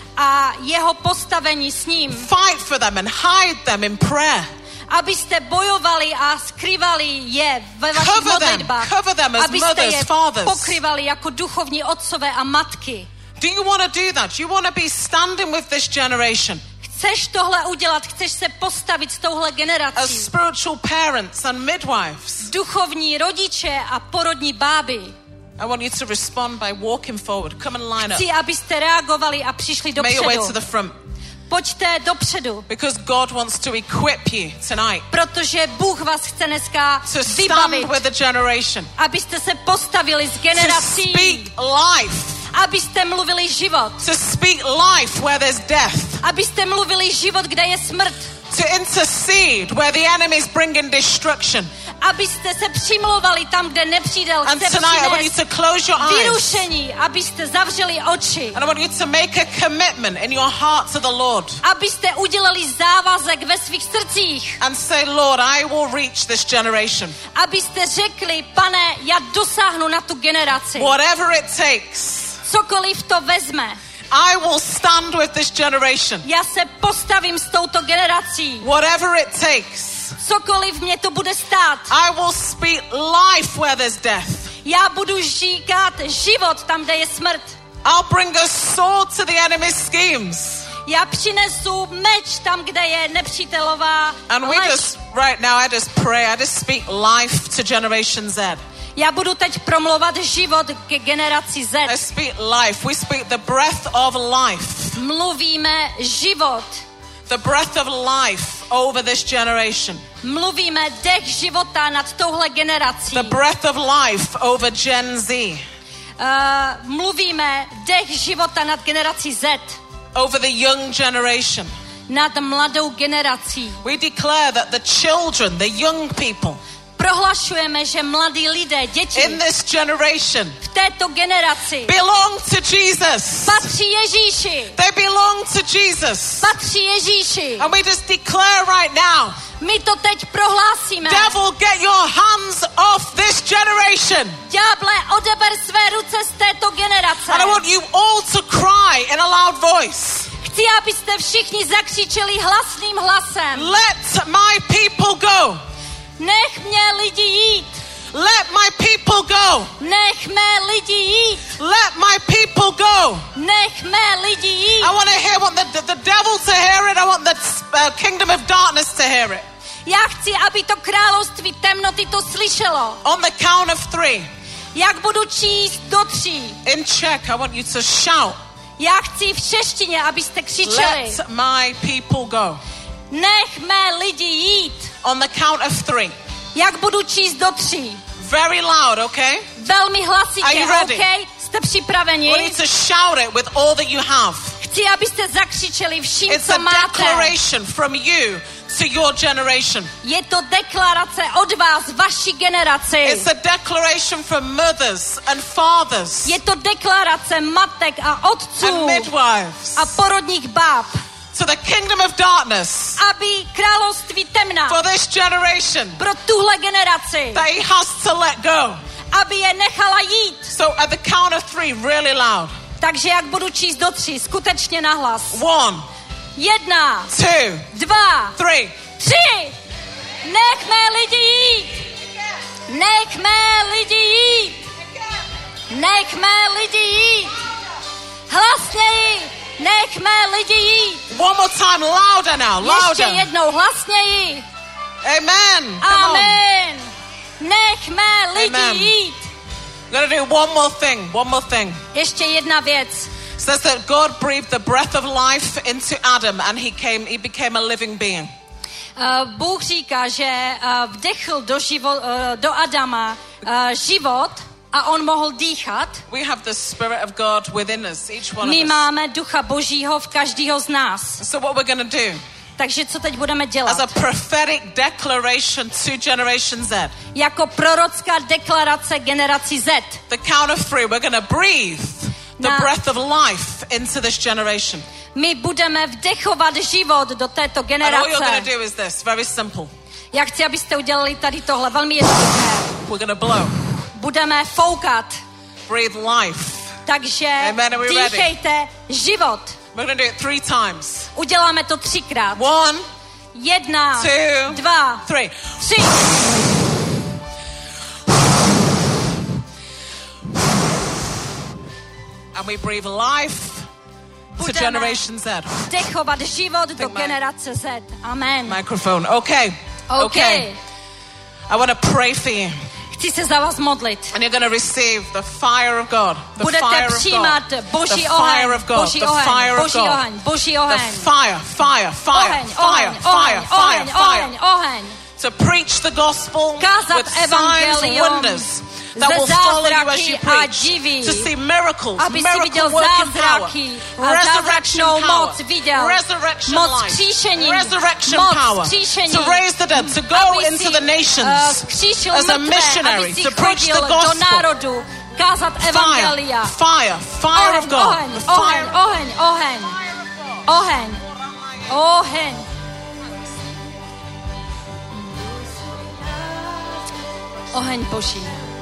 a jeho postavení s ním. Fight for them and hide them in prayer. Abyste bojovali a skrývali je ve vašich Cover them. modlitbách. Cover them as Abyste mothers, je fathers. pokryvali jako duchovní otcové a matky. Do you want to do that? Do you want to be standing with this generation Chceš tohle udělat, chceš se postavit s touhle as generací. spiritual parents and midwives? Duchovní rodiče a porodní báby. I want you to respond by walking forward. Come and line up. Chci, abyste reagovali a přišli Make your way to dopředu. the front. Pojďte dopředu, Because God wants to equip you tonight protože Bůh vás chce dneska to stand vybavit, with the generation, abyste se postavili s to generací, speak life, abyste mluvili život, to speak life where there's death, abyste mluvili život, kde je smrt, to intercede where the enemy is bringing destruction. abyste se přimlouvali tam, kde nepřítel And chce tonight I want you přinést to close your eyes. vyrušení, abyste zavřeli oči, And I want you to make a commitment in your heart to the Lord abyste udělali závazek ve svých srdcích, and say, Lord, I will reach this generation. abyste řekli, pane, já dosáhnu na tu generaci. Whatever it takes, Cokoliv to vezme, I will stand with this generation. já se postavím s touto generací. Whatever it takes, Cokoliv mě to bude stát, I will speak life where there's death. já budu říkat život tam, kde je smrt. I'll bring a sword to the enemy's schemes. Já přinesu meč tam, kde je nepřítelová And we lež. just, right now, I just pray, I just speak life to Generation Z. Já budu teď promlouvat život ke generaci Z. I speak life. We speak the breath of life. Mluvíme život. The breath of life over this generation. Mluvíme dech života nad touhle generací. The breath of life over Gen Z. Mluvíme dech života nad generací Z. Over the young generation. nad mladou generací. We declare that the children, the young people Prohlašujeme, že mladí lidé, děti in this generation v této generaci belong to Jesus. patří Ježíši. They belong to Jesus. Patří Ježíši. And we just declare right now, My to teď prohlásíme. devil, get your hands off this generation. Ďáble, odeber své ruce z této generace. And I want you all to cry in a loud voice. Chci, abyste všichni zakřičeli hlasným hlasem. Let my people go. Nech mě lidi jít. Let my people go. Nech mé lidi jít. Let my people go. Nech mé lidi jít. I want to hear, the devil to hear it. I want the kingdom of darkness to hear it. Já chci, aby to království temnoty to slyšelo. On the count of 3. Jak budu číst do 3. In Czech, I want you to shout. Já chci v češtině, abyste křičeli. Let my people go. Nech mé lidi jít. On the count of 3. Jak budu číst do 3. Very loud, okay? Velmi Are hlasitě, you ready? OK? Jste připraveni? I want you to shout it with all that you have. Chci, abyste zakřičeli vším, It's co a máte. declaration from you to your generation. Je to deklarace od vás, vaší generaci. It's a declaration from mothers and fathers Je to deklarace matek a and otců midwives a porodních báb, to the kingdom of darkness aby království temna for this generation pro tuhle generaci, that he has to let go. aby je nechala jít. So at the count of 3, really loud. Takže jak budu číst do 3, skutečně nahlas. 1, 1, 2, 2, 3. 3. Nech mé lidi jít. Nech mé lidi jít. Nech mé lidi jít. Hlasněji. Nech mé lidi jít. One more time, louder now, Ještě louder. jednou hlasněji. Amen. Come on. Amen. Nech mé lidi Amen. jít. We're going to do one more thing. Ještě jedna věc. It says that God breathed the breath of life into Adam and he became a living being. Bůh říká, že vdechl do Adama život a on mohl dýchat. We have the Spirit of God within us, each one My of us. máme Ducha Božího v každého z nás. So what we're going to do, Takže co teď budeme as dělat? a prophetic declaration to Generation Z, Jako prorocká deklarace generaci Z. the count of 3, we're going to breathe the Na- breath of life into this generation. My budeme vdechovat život do této And all you're going generace. to do is this, very simple. Já chci, abyste udělali tady tohle velmi jednoduché. We're going to blow, Budeme foukat. breathe life. Takže Amen, are we ready? dýchejte život. We're going to do it 3 times. Uděláme to 3krát. 1, 1, 2, 2, 3. 3. And we breathe life to Budeme Generation Z. vdechovat život do Tak má- generace Z. Amen. Microphone. Okay. OK. I want to pray for you. Chci se za vás modlit. And you're going to receive the fire of God. The Budete fire of přijímat God. Boží The oheň, fire of God. Boží The oheň, fire of Boží God. oheň, Boží The oheň. fire, fire, fire, Oheň, fire, oheň, fire, oheň, fire, oheň, fire. oheň. To preach the gospel Kázat with signs and evangelium wonders that ze will follow you as zázraky you a preach. diví. To see miracles, Aby si miracle viděl working power, zázraky a resurrection zázračnou power, moc viděl. resurrection Moc life, vzkříšení, resurrection moc power, vzkříšení. to raise the dead, to go Aby into si, the nations vzkříšil as a mrtvé, missionary, aby si to preach chodil the do gospel. národu, kázat Fire, evangelia. fire, fire of Oheň, God. oheň, The oheň, fire oheň, oheň. Oheň. Oheň. Oheň Boží.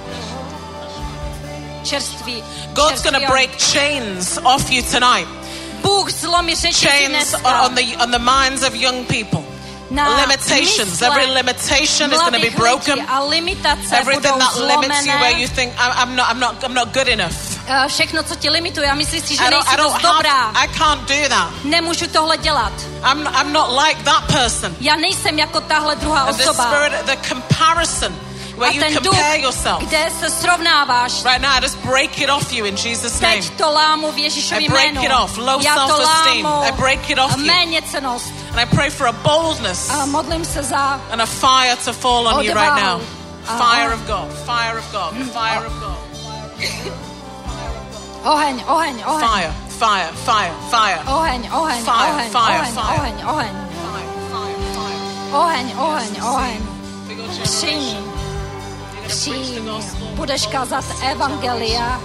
Čerstvý. God's going to break chains off you tonight. Bůh zlomí řetězy Chains dneska. on the minds of young people. Na Limitations. mysle Every limitation is going to be mladých broken. lidí a limitace Everything budou that limits you, where you zlomené. think I'm not good enough. Všechno, co tě limituje a myslíš si, že I nejsi dost don't dobrá. have. I can't do that. Nemůžu tohle dělat. I'm not like that person. Já nejsem jako tahle druhá And the osoba. spirit, the comparison, A where you ten duch, compare yourself. kde se srovnáváš, Right now, I just break it off you in Jesus' name. teď to lámu v I Ježíšově break jménu. it off. Low Já to self-esteem. lámu I break it off you. méněcennost. And I pray for a boldness A modlím se za and a fire to fall on you right now. Odvahu. Fire of God. Fire of God. Fire of God. oheň, oheň, oheň. Fire. fire, fire, fire. Oheň, oheň, Fire, oheň, fire, oheň, fire. oheň, oheň. Oheň, oheň, oheň. Přijmi. Přijmi. Budeš kázat evangelia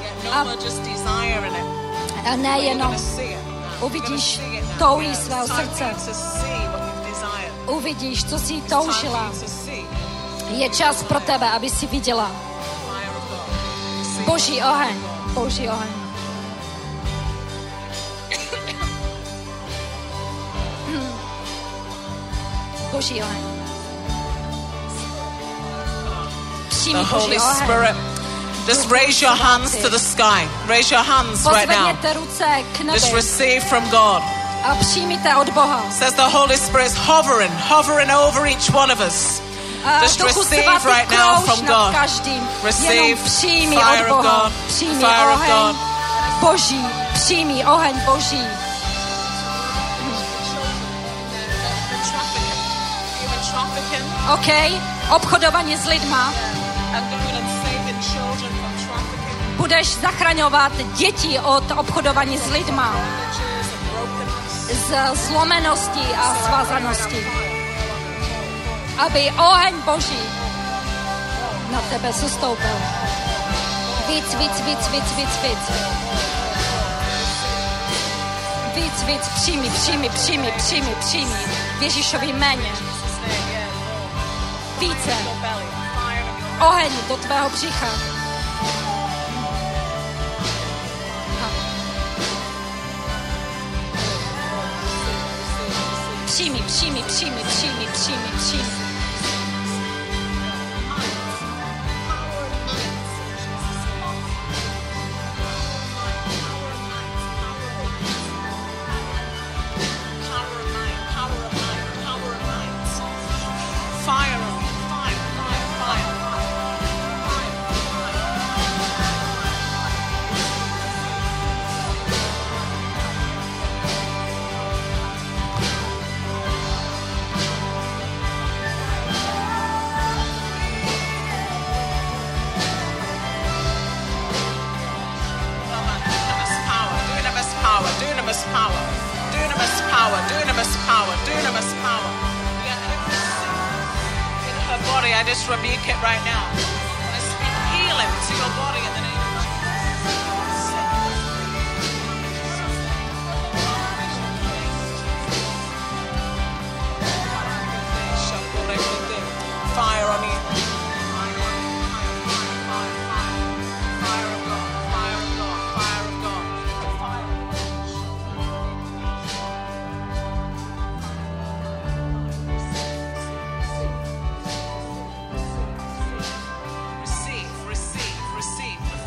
a nejenom uvidíš touhy svého srdce. Uvidíš, co jsi toužila. Je čas pro tebe, aby si viděla. Boží oheň. Boží oheň. Boží oheň. The Holy Spirit. Just raise your hands to the sky. Raise your hands right now. Pozvedněte ruce k Just nebi receive from God. a přijmite od Boha. Says the Holy Spirit is hovering over each one of us. Just Duchu receive svatý right now krouž from nad God. každým. Receive Jenom přijmi fire od of Boha. God. Přijmi Fire of oheň God. Boží. Přijmi oheň Boží. OK, obchodování s lidma. Budeš zachraňovat děti od obchodování s lidma. Z zlomenosti a svázanosti. Aby oheň Boží na tebe sestoupil. Víc, víc, víc, víc, víc, víc. Víc, víc, přijmi, přijmi, přijmi, přijmi, přijmi. V Ježíšově jméně. Více. Oheň do tvého břicha. Přijmi, přijmi, přijmi, přijmi, přijmi, přijmi. I just rebuke it right now. I speak healing to your body in the name of Jesus. Fire on you. Fire of God, fire of God, fire of God, fire of God. Receive the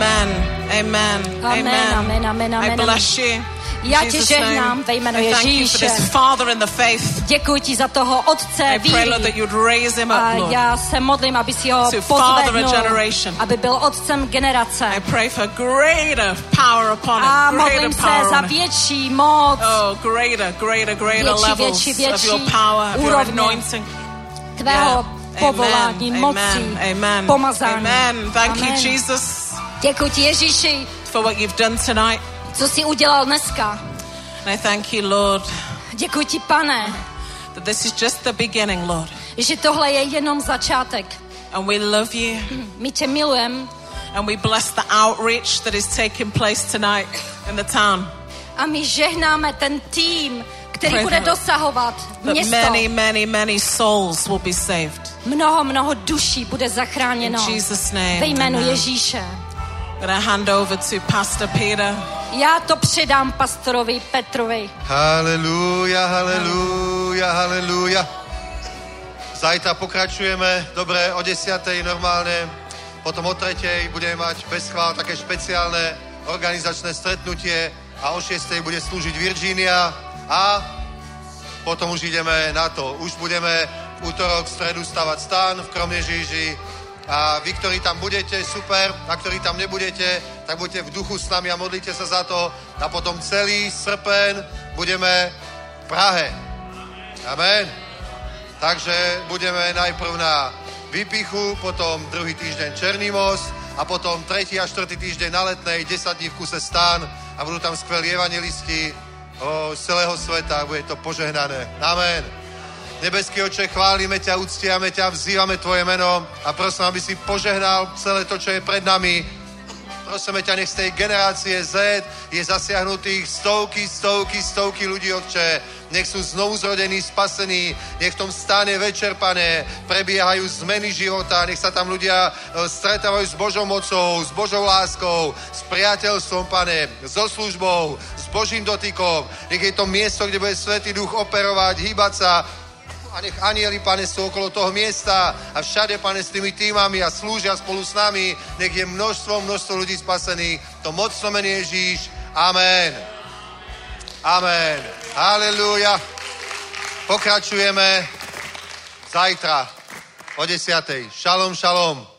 Amen. Amen. Amen, amen, amen, I amen. bless you. Já tě žehnám ve jménu I thank you for Ježíše. this father in the faith. Děkuji ti za toho otce I pray, Lord, that víry. you'd raise him A up, Lord. já se modlím, aby si ho To father a pozvednul, generation. aby byl otcem generace. I pray for greater power upon A him. modlím Greater se power za on him. větší moc, Oh, greater levels of your power, of your úrovně anointing. tvého povolání, mocí, Amen. pomazání. Amen. Thank you, Amen. Jesus, Děkuji ti, Ježíši, for what you've done tonight. co jsi udělal dneska. And I thank you, Lord, Děkuji ti, Pane, that this is just the beginning, Lord. že tohle je jenom začátek. And we love you. My tě milujeme And we bless the outreach that is taking place tonight in the town. a my žehnáme ten tým, který Pray bude that dosahovat That město. many souls will be saved. Mnoho duší bude zachráněno In Jesus' name. ve jménu Amen. Ježíše. I'm going to hand over to Pastor Peter. Já to předám pastorovi Petrovi. Haleluja, haleluja, haleluja. Zajtra pokračujeme, dobre, o 10:00 normálne, potom o 3:00 budeme mať bez chvál také špeciálne organizačné stretnutie a o 6:00 bude slúžiť Virginia a potom už ideme na to. Už budeme v útorok, v stredu stavať stán v Kroměříži a vy, ktorí tam budete, super, a ktorí tam nebudete, tak buďte v duchu s nami a modlite sa za to a potom celý srpen budeme v Prahe. Amen. Takže budeme najprv na Vypichu, potom druhý týždeň Černý most a potom 3. a 4. týždeň na Letnej, 10 dní v kuse stán a budú tam skvelí evangelisti z celého sveta, bude to požehnané. Amen. Nebeský Oče, chválime ťa, uctiame ťa, vzývame tvoje meno a prosím, aby si požehnal celé to, čo je pred nami. Prosíme ťa, nech z tej generácie Z je zasiahnutých stovky ľudí, Otče. Nech sú znovu zrodení, spasení, nech v tom stáne večer, Pane, prebiehajú zmeny života, nech sa tam ľudia stretávajú s Božou mocou, s Božou láskou, s priateľstvom, Pane, so službou, s Božím dotykom. Nech je to miesto, kde bude Svätý Duch operovať, hýbať sa a nech anjeli, Pane, sú okolo toho miesta a všade, Pane, s tými týmami a slúžia spolu s nami. Nech je množstvo ľudí spasených. To mocno meno Ježíš. Amen. Amen. Halelúja. Pokračujeme zajtra o 10:00. Šalom, šalom.